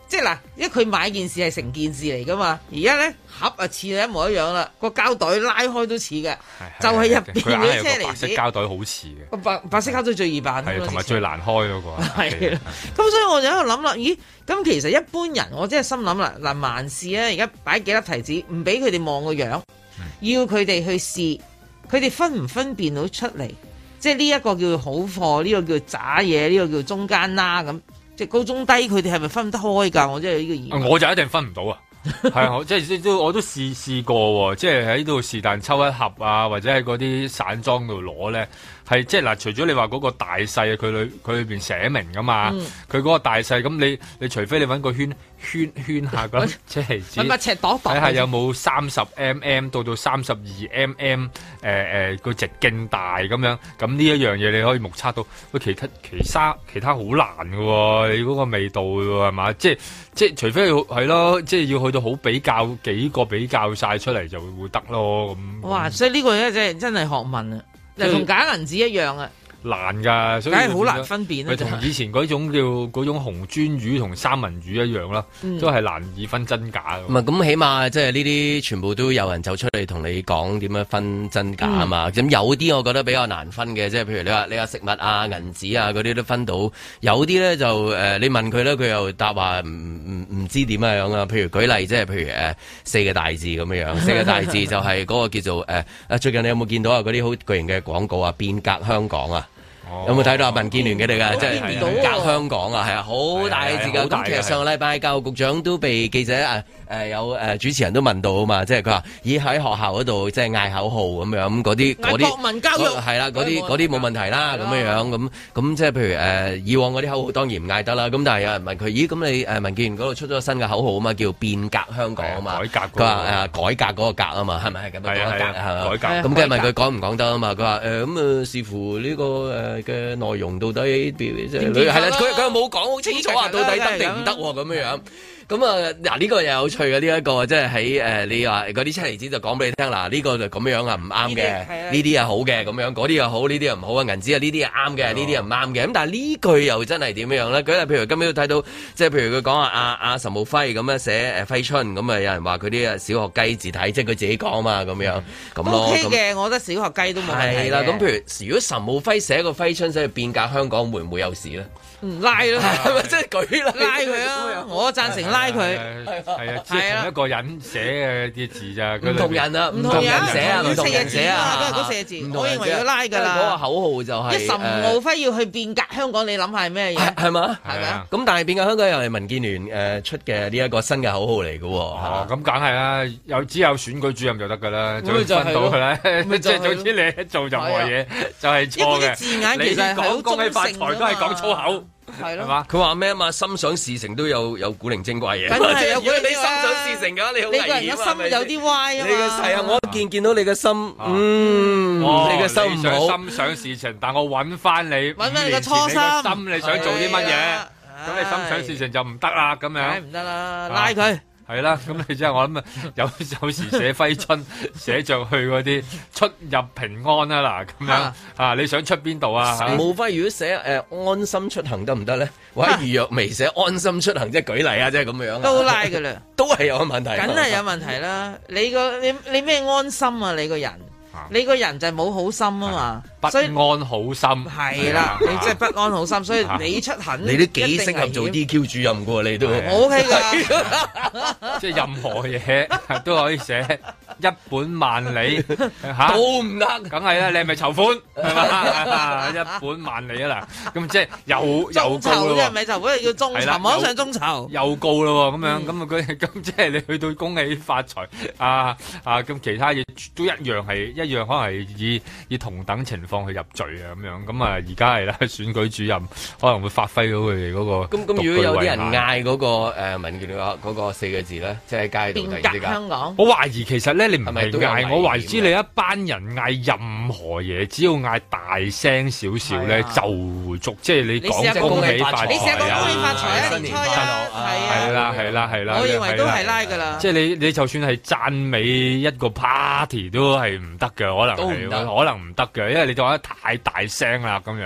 即係嗱，因為佢買件事係成件事嚟噶嘛，而家咧盒啊似係一模一樣啦，個膠袋拉開都似嘅，就係入邊嗰啲車厘子。白色膠袋好似嘅， 個白白色膠袋最易辦， 係同埋最難開嗰個。 係啦，咁所以我就喺度諗啦，咦？咁其實一般人我真係心諗啦，嗱，萬事啊，而家擺幾粒提子，唔俾佢哋望個樣，嗯、要佢哋去試，佢哋分唔分辨到出嚟？即係呢一個叫好貨，呢、呢個叫渣嘢，呢、呢個叫中間啦咁。即係高中低，佢哋係咪分得開㗎？我真係呢個疑問。 我就一定分唔到啊！係我即係都我都試試過喎，即係喺度是但抽一盒啊，或者喺嗰啲散裝度攞咧，係即係嗱，除咗你話嗰個大細，佢裏佢裏邊寫明㗎嘛，佢嗰、嗯、個大細，咁你你除非你揾個圈圈圈下咁，即係揾把尺度度， 睇下有冇三十 mm 到到三十二 mm， 誒誒個直徑大咁樣，咁呢一樣嘢你可以目測到。喂，其他其他其他好難㗎喎，你嗰個味道喎係嘛？即係即係除非係咯，即係要去到好比較幾個比較晒出嚟就會得咯咁。哇！ 所以呢個咧真係真係學問啊，又同假銀紙一樣啊！ 難㗎，所以梗係好難分辨啦。 佢同以前嗰種叫嗰種紅鱒魚同三文魚一樣啦，嗯、都係難以分真假。 唔係咁，起碼即係呢啲全部都有人走出嚟同你講點樣分真假啊嘛。咁、嗯、有啲我覺得比較難分嘅，即係譬如你話你話食物啊、銀紙啊嗰啲都分到。有啲咧就誒、呃，你問佢咧，佢又答話唔唔唔知點樣啊。譬如舉例，即係譬如誒、呃、四個大字咁樣樣，四個大字就係嗰個叫做誒誒、呃。最近你有冇見到啊？嗰啲好巨型嘅廣告啊，變革香港啊！有冇睇到啊？民建聯嘅哋㗎，即係變革香港啊，係啊，好大字㗎。咁其實上個禮拜教育局長都被記者啊誒有誒主持人都問到啊嘛，即係佢話咦喺學校嗰度即係嗌口號咁樣，咁嗰啲嗰啲國民教育係啦，嗰啲嗰啲冇問題啦，咁樣樣咁咁即係譬如誒以往嗰啲口號當然唔嗌得啦，咁但係有人問佢咦咁你誒民建聯嗰度出咗個新嘅口號啊嘛，叫變革香港啊嘛，改革佢話誒改革嗰個革啊嘛，係咪係咁樣改革係嘛？改革咁跟住問佢講唔講得啊嘛？佢話誒咁啊視乎呢個誒嘅內容到底即係係啦，佢佢又冇講好清楚啊，到底得定唔得咁樣樣。咁啊，嗱呢個又有趣嘅呢一個，即係喺誒你話嗰啲車厘子就講俾你聽，嗱呢個就咁樣啊，唔啱嘅，呢啲係好嘅咁樣，嗰啲又好，呢啲又唔好啊，銀紙啊呢啲係啱嘅，呢啲又唔啱嘅。咁但係呢句又真係點樣咧？舉例譬如今日都睇到，即係譬如佢講啊，阿阿岑敖暉咁樣寫誒揮春，咁啊有人話佢啲啊小學雞字體，即係佢自己講啊嘛，咁樣咁咯。 O K 嘅，我覺得小學雞都冇問題嘅。 係啦，咁譬如如果岑敖暉寫個揮春寫變革香港，會唔會有事咧？ 唔拉咯， 係咪即係舉啦？ 拉佢啊！我贊成拉佢。 係啊，即係同一個人寫嘅啲字咋， 唔同人啊，唔同人寫啊，唔同人寫啊， 都係嗰四個字。我認為要拉㗎啦。 嗰個口號就係一岑敖暉要去變革香港，你諗下係咩嘢？ 係嘛？ 係啊。 咁但係變革香港又係民建聯誒出嘅呢一個新嘅口號嚟㗎喎。 哦，咁梗係啦，有只有選舉主任就得㗎啦，就分到㗎啦。即係總之你一做任何嘢就係錯嘅。 字眼其實係好恭喜發財都係講粗口。 係咯， 佢話咩啊嘛？心想事成都有有古靈精怪嘢。 梗係有古靈精怪。 你心想事成嘅，你好危險啊！ 你個人嘅心有啲歪啊嘛。 你嘅係啊，我一見見到你嘅心，嗯，你嘅心唔好。 心想事成，但我揾翻你， 揾翻你嘅初心， 心你想做啲乜嘢？咁你心想事成就唔得啦，咁樣。 梗唔得啦，拉佢。 係啦，咁你即係我諗啊，有有時寫揮春寫着去嗰啲出入平安啊嗱，咁樣啊，你想出邊度啊？ 岑敖暉如果寫誒、呃、安心出行得唔得咧？或者余若薇寫安心出行，即係舉例啊，即係咁樣。 都拉噶啦， 都係有問題。 梗係有問題啦！你個你你咩安心啊？你個人。你個人就係冇好心啊嘛， 不安好心係啦，你即係不安好心，所以你出行你都幾適合做 D Q 主任噶，你都 O K 噶， 即係任何嘢都可以寫一本萬里吓， 都唔得， 梗係啦，你係咪籌款係嘛？一本萬里啊嗱，咁即係又又高咯， 即係咪籌款要眾籌，網上眾籌又高咯，咁樣咁啊佢咁即係你去到恭喜發財啊啊咁其他嘢都一樣係一。一樣可能係以以同等情況去入罪啊咁樣，咁啊而家係啦，選舉主任可能會發揮到佢哋嗰個。咁咁如果有啲人嗌嗰個誒民建聯嗰個四個字咧，即係街度突然之間。變革香港。我懷疑其實咧，你唔係嗌，我懷疑你一班人嗌任何嘢，只要嗌大聲少少咧，就會足。即係你講恭喜發財啊！ 你寫恭喜發財啊！年初一係啦係啦係啦。 我認為都係拉㗎啦。 即係你你就算係讚美一個 party 都係唔得嘅。可能係，可能唔得嘅，因為你講得太大聲啦，咁樣。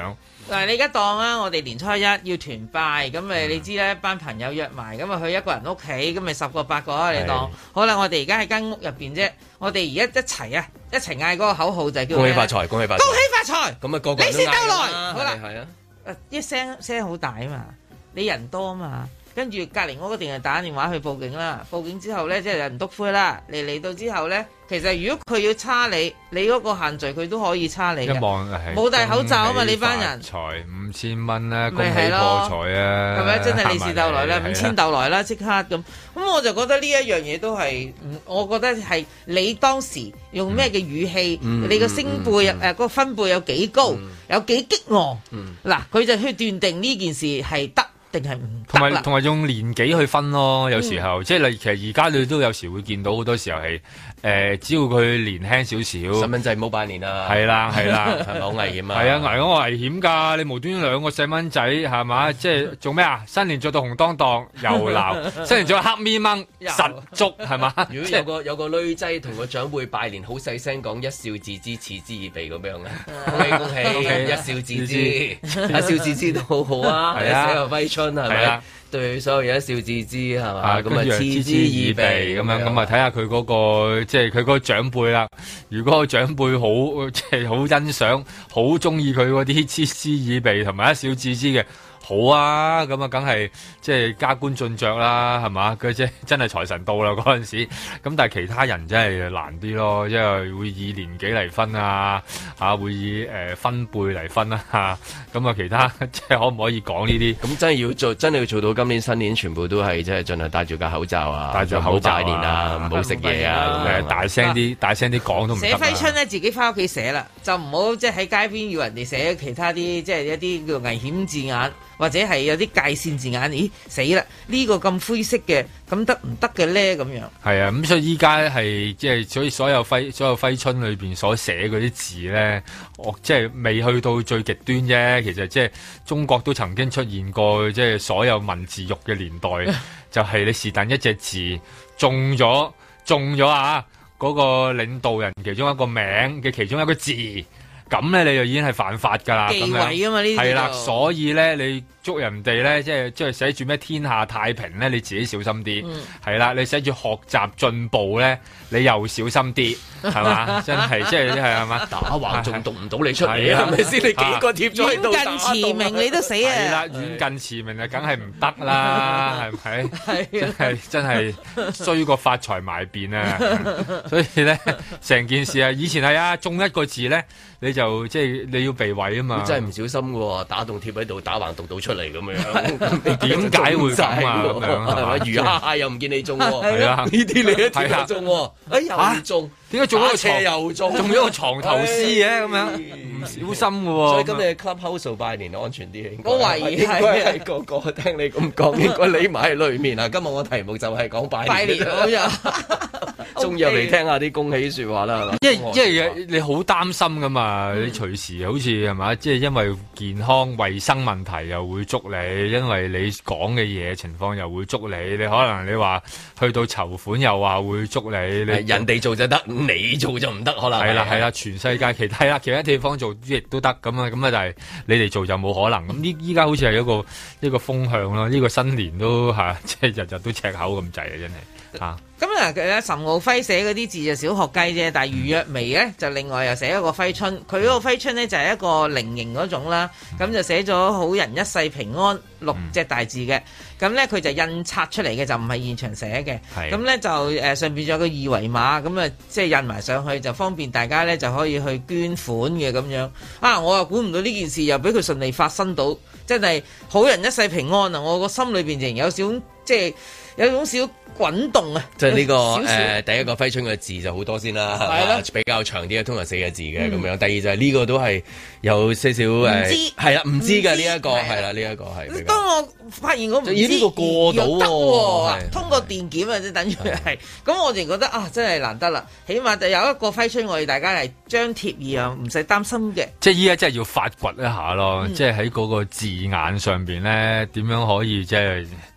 嗱，你而家當啊，我哋年初一要團拜，咁咪你知咧，班朋友約埋，咁啊去一個人屋企，咁咪十個八個啊，你當。好啦，我哋而家喺間屋入邊啫，我哋而家一齊啊，一齊嗌嗰個口號就係叫恭喜發財，恭喜發財， 恭喜發財。 咁啊，個個利是到來。好啦， 係啊， 誒一聲聲好大啊嘛，你人多啊嘛。跟住隔離屋嗰定係打電話去報警啦，報警之後咧，即係人篤灰啦。嚟嚟到之後咧，其實如果佢要叉你，你嗰個限聚佢都可以叉你嘅。一望係冇戴口罩啊嘛，你班人。財五千蚊啦，恭喜破財啊！係咪真係利是到來啦？五千到來啦，即刻咁。咁我就覺得呢一樣嘢都係，我覺得係你當時用咩嘅語氣，嗯、你個聲貝誒嗰個分貝有幾高，嗯、有幾激昂。嗱、嗯，佢就去斷定呢件事係得。定係唔同埋同埋用年紀去分咯，有時候、嗯、即係你其實而家你都有時會見到好多時候係誒、呃，只要佢年輕少少，細蚊仔唔好拜年啦，係啦係啦， 係咪好危險啊？ 係啊，危我危險㗎！你無端端兩個細蚊仔係嘛？即係做咩啊？新年着到紅當當又鬧，新年着黑咪掹實足係嘛？ 如果有個有個女仔同個長輩拜年，好細聲講一笑置之，嗤之以鼻咁樣啊！恭喜恭喜，一笑置之，一笑置之都好好啊！係啊，寫個揮春係咪？對所有嘢一笑置之係嘛？咁啊，嗤之以鼻咁樣，咁啊睇下佢嗰個即係佢嗰個長輩啦。如果個長輩好即係好欣賞、好中意佢嗰啲嗤之以鼻同埋一笑置之嘅。好啊，咁啊，梗係即係加官進爵啦，係嘛？佢即係真係財神到啦嗰陣時，咁但係其他人真係難啲咯，因為會以年紀嚟分啊，啊會以誒、呃、分輩嚟分啊，咁啊其他即係可唔可以講呢啲？ 咁真係要做，真係要做到今年新年全部都係即係盡量戴住個口罩啊， 戴住口罩拜年啊，唔好食嘢啊， 誒大聲啲，大聲啲講都唔得。 寫揮春咧，自己翻屋企寫啦，就唔好即係喺街邊要人哋寫其他啲即係一啲叫危險字眼。或者係有啲界線字眼，咦死啦！呢、這個咁灰色嘅，咁得唔得嘅咧？咁樣係啊，咁所以依家係即係所以所有揮所有揮春裏邊所寫嗰啲字咧，我即係未去到最極端啫。其實即係中國都曾經出現過，即係所有文字獄嘅年代，就係你是但一隻字中咗中咗啊！嗰、那個領導人其中一個名嘅其中一個字。咁咧你就已經係犯法㗎啦， 忌諱啊嘛呢啲係啦，所以咧你捉人哋咧，即係即係寫住咩天下太平咧，你自己小心啲，係啦、嗯，你寫住學習進步咧，你又小心啲，係嘛？真係即係係係嘛？ 打橫仲讀唔到你出嚟啊？係咪先？你幾個貼咗喺度打遠近馳名你都死啊！ 係啦，遠近馳名啊，梗係唔得啦，係咪？係係真係衰過發財埋便啊！所以咧，成件事啊，以前係啊，中一個字咧。你就即係你要避諱啊嘛！ 真係唔小心嘅喎，打棟貼喺度，打橫讀到出嚟咁樣， 你點解會咁啊？咁樣係嘛？ 魚蝦蟹又唔見你中喎， 係啊！呢啲你一貼就中喎，哎又中， 點解中咗個斜又中， 中咗個床頭獅嘅咁樣？唔小心嘅喎。 所以今日 Clubhouse 拜年安全啲， 我懷疑係個個聽你咁講，應該匿埋喺裏面啊！今日我題目就係講拜年， 拜年好呀。 終於入嚟聽下啲恭喜説話啦，係嘛？ 因為因為你好擔心噶嘛，嗯、你隨時好似係嘛，即係因為健康衞生問題又會捉你，因為你講嘅嘢情況又會捉你，你可能你話去到籌款又話會捉你，你人哋做就得，你做就唔得，可能係啦係啦，全世界其他啦其他地方做亦都得咁啊，咁啊，但係你哋做就冇可能。咁呢依家好似係一個一個風向咯，呢、呢個新年都嚇即係日日都赤口咁滯啊，真係嚇。 咁啊，其岑敖暉寫嗰啲字就小學雞啫，但係余若薇咧就另外又寫一個揮春，佢嗰個揮春咧就係一個菱形嗰種啦，咁就寫咗好人一世平安六隻大字嘅，咁咧佢就印刷出嚟嘅，就唔係現場寫嘅，咁咧就誒上邊仲有個二維碼，咁啊即係印埋上去就方便大家咧就可以去捐款嘅咁樣。啊，我又估唔到呢件事又俾佢順利發生到，真係好人一世平安啊！我個心裏邊仍有少即係有種小滾動啊！ 即係呢個誒第一個揮春嘅字就好多先啦，係啦，比較長啲嘅，通常四個字嘅咁樣。第二就係呢個都係有些少誒，係啦，唔知嘅呢一個係啦，呢一個係。當我發現我唔知呢個過到喎，通過電檢啊，即係等於係。咁我哋覺得啊，真係難得啦，起碼就有一個揮春，我哋大家係張貼而唔使擔心嘅。 即係依家真係要發掘一下咯，即係喺嗰個字眼上邊咧，點樣可以即係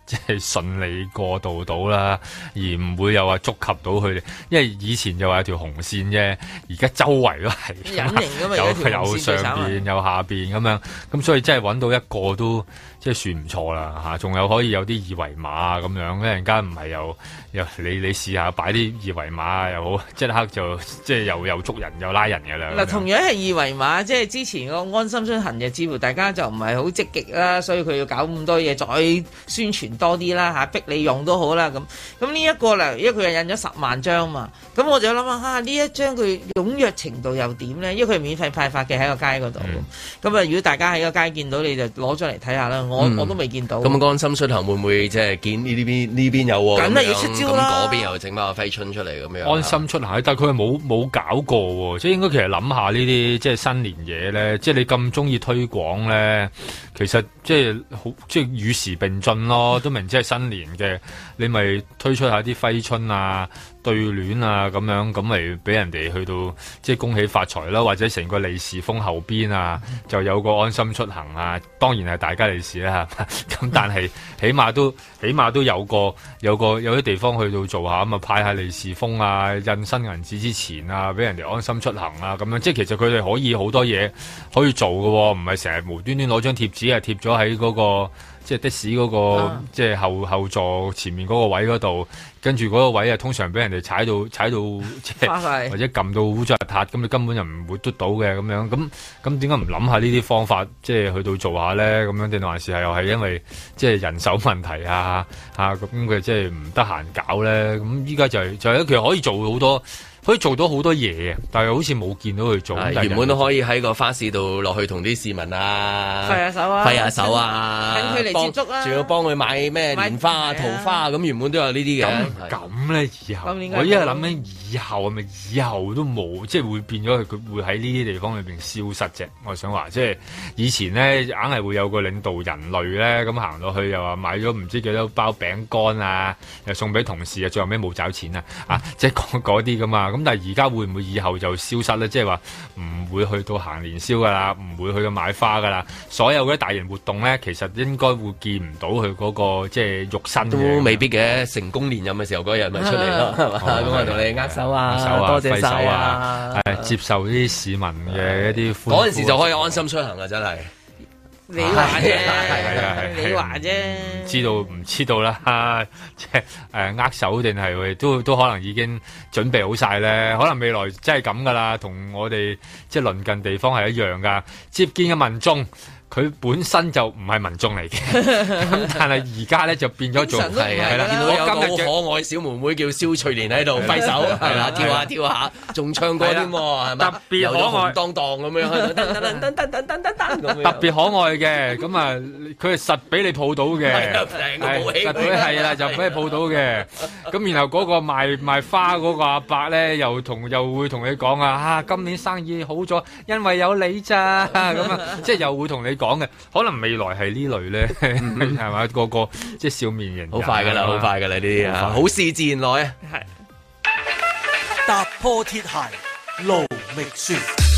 即係順利過渡到啦，而唔會又話觸及到佢哋，因為以前就話有條紅線啫，而家周圍都係隱形㗎嘛， 有有有上邊有下邊咁樣，咁所以真係揾到一個都即係算唔錯啦嚇，仲有可以有啲二維碼咁樣，一陣間唔係又又你你試下擺啲二維碼又好，即刻就即係又又捉人又拉人嘅啦。 嗱，同樣係二維碼，即係之前個安心出行嘅，似乎大家就唔係好積極啦，所以佢要搞咁多嘢再宣傳多啲啦嚇，逼你用都好啦咁。咁呢一個咧，因為佢係印咗十萬張嘛，咁我就諗下嚇呢一張佢踴躍程度又點咧？因為佢係免費派發嘅喺個街嗰度。咁啊、嗯，如果大家喺個街見到，你就攞咗嚟睇下啦。我、嗯、我都未見到。 咁安心出行會唔會即係見呢邊呢邊有喎？ 梗係要出招啦。 咁嗰邊又整翻個揮春出嚟咁樣。 安心出行，但係佢係冇冇搞過喎，即係應該其實諗下呢啲即係新年嘢咧，即係你咁中意推廣咧，其實即係好即係與時並進咯，都明即係新年嘅，你咪推出下啲揮春啊、對聯啊咁樣，咁咪俾人哋去到即係恭喜發財啦，或者成個利是封後邊啊，就有個安心出行啊，當然係大家利是啦，咁但係起碼都起碼都有個有個有啲地方去到做下咁啊，派下利是封啊，印新銀紙之前啊，俾人哋安心出行啊，咁樣即係其實佢哋可以好多嘢可以做嘅喎，唔係成日無端端攞張貼紙啊貼咗喺嗰個。即係的士嗰、那個，啊、即係後後座前面嗰個位嗰度，跟住嗰個位啊，通常俾人哋踩到踩到，即係或者撳到污糟邋遢，咁你根本就唔會嘟到嘅咁樣。咁咁點解唔諗下呢啲方法，即係去到做下咧？咁樣定還是係又係因為即係人手問題啊？嚇咁佢即係唔得閒搞咧？咁依家就係、是、就係、是、其實可以做好多。可以做到好多嘢，但係好似冇見到佢做。 原本都可以喺個花市度落去同啲市民啊揮下手啊， 揮下手啊， 等佢嚟接觸啊， 仲要幫佢買咩蓮花啊、桃花啊，咁原本都有呢啲嘅。 咁咧以後，我依家諗緊以後係咪以後都冇，即係會變咗佢，佢會喺呢啲地方裏邊消失啫。我想話，即係以前咧，硬係會有個領導人類咧，咁行落去又話買咗唔知幾多包餅乾啊，又送俾同事啊，最後尾冇找錢啊，啊，即係嗰啲噶嘛。咁但係而家會唔會以後就消失咧？即係話唔會去到行年宵噶啦，唔會去到買花噶啦。所有嗰啲大型活動咧，其實應該會見唔到佢嗰個即係肉身嘅。 都未必嘅，成功連任嘅時候嗰日咪出嚟咯，係嘛？咁啊同你握手啊， 手啊多謝晒啊，誒接受啲市民嘅一啲歡呼。 嗰陣時就可以安心出行啊！真係。 你話啫， 你話啫， 唔知道唔知道啦，即係誒握手定係都都可能已經準備好晒咧，可能未來真係咁噶啦，同我哋即係鄰近地方係一樣噶，接見嘅民眾。佢本身就唔係民眾嚟嘅，咁但係而家咧就變咗做係係啦。見到有個好可愛小妹妹叫蕭翠蓮喺度揮手，係啦，跳下跳下，仲唱歌添喎，係咪？特別可愛，當當咁樣，噔噔噔噔噔噔噔噔咁樣。特別可愛嘅，咁啊，佢係實俾你抱到嘅，係實俾係啦，就俾你抱到嘅。咁然後嗰個賣賣花嗰個阿伯咧，又同又會同你講啊，啊今年生意好咗，因為有你咋咁啊，即係又會同你講嘅，可能未來係呢類咧，係嘛？個個即係笑面人， 好快噶啦，好快噶啦呢啲啊，好事自然來啊！ 係踏破鐵鞋路未雪。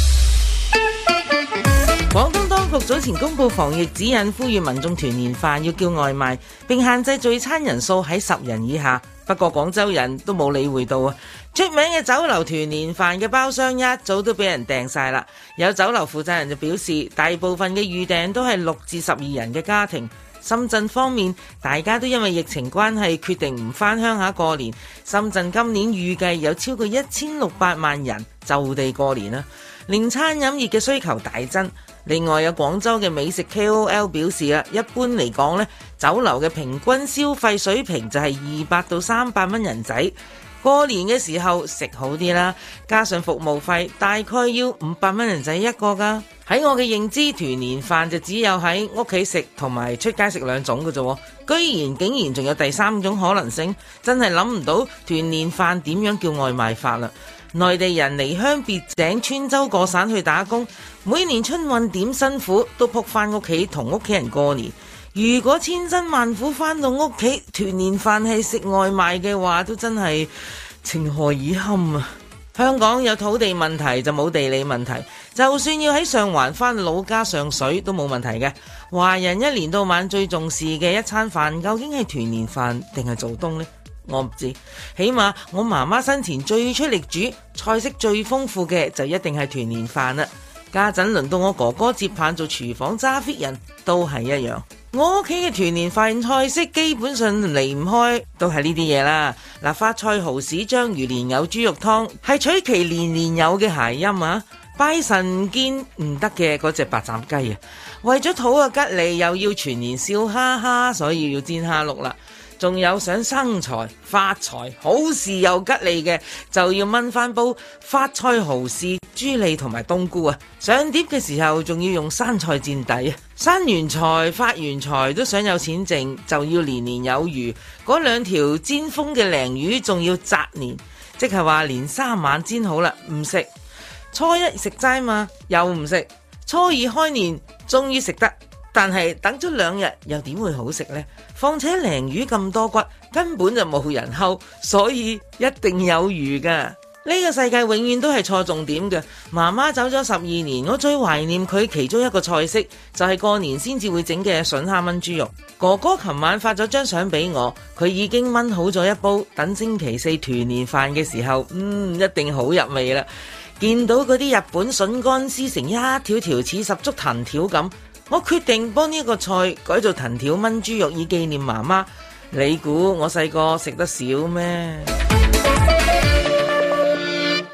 廣東當局早前公布防疫指引，呼籲民眾團年飯要叫外賣，並限制聚餐人數喺十人以下。不過廣州人都冇理會到啊！出名嘅酒樓團年飯嘅包廂一早都俾人訂晒啦。有酒樓負責人就表示，大部分嘅預訂都係六至十二人嘅家庭。深圳方面，大家都因為疫情關係決定唔返鄉下過年。深圳今年預計有超過一千六百萬人就地過年啦，令餐飲業嘅需求大增。另外有廣州嘅美食 K O L 表示啊，一般嚟講呢，酒樓嘅平均消費水平就係二百到三百蚊人仔。過年嘅時候食好啲啦，加上服務費，大概要五百蚊人仔一個噶。喺我嘅認知，團年飯就只有喺屋企食同埋出街食兩種嘅啫，居然竟然仲有第三種可能性，真係諗唔到團年飯點樣叫外賣法啦。內地人離鄉別井，穿州過省去打工，每年春運點辛苦都撲翻屋企同屋企人過年。如果千辛萬苦翻到屋企，團年飯係食外賣嘅話，都真係情何以堪啊！ 香港有土地問題就冇地理問題，就算要喺上環返老家上水都冇問題嘅。華人一年到晚最重視嘅一餐飯，究竟係團年飯定係做冬呢？我唔知，起碼我媽媽生前最出力煮，菜式最豐富嘅就一定係團年飯啦。家陣輪到我哥哥接棒做廚房揸 fit 人，都係一樣。我屋企嘅團年飯菜式基本上離唔開都係呢啲嘢啦。嗱，發菜蠔豉章魚蓮藕豬肉湯係取其年年有嘅諧音啊！拜神見唔得嘅嗰隻白斬雞啊，為咗討個吉利又要全年笑哈哈，所以要煎蝦碌啦。仲有想生財發財好事又吉利嘅，就要炆翻煲發菜蠔豉豬脷同埋冬菇啊！上碟嘅時候仲要用生菜墊底啊！生完財發完財都想有錢剩，就要年年有餘。嗰兩條煎封嘅鯪魚仲要擇年，即係話連三晚煎好啦，唔食。初一食齋嘛，又唔食。初二開年終於食得，但係等咗兩日又點會好食呢？況且鯪魚咁多骨，根本就冇人睺，所以一定有餘噶。呢個世界永遠都係錯重點嘅。媽媽走咗十二年，我最懷念佢其中一個菜式，就係過年先至會整嘅筍蝦炆豬肉。哥哥琴晚發咗張相俾我，佢已經炆好咗一煲，等星期四團年飯嘅時候，嗯，一定好入味啦。見到嗰啲日本筍乾絲成一條條似十足藤條咁，我決定幫呢個菜改做藤條炆豬肉以紀念媽媽。你估我細個食得少咩？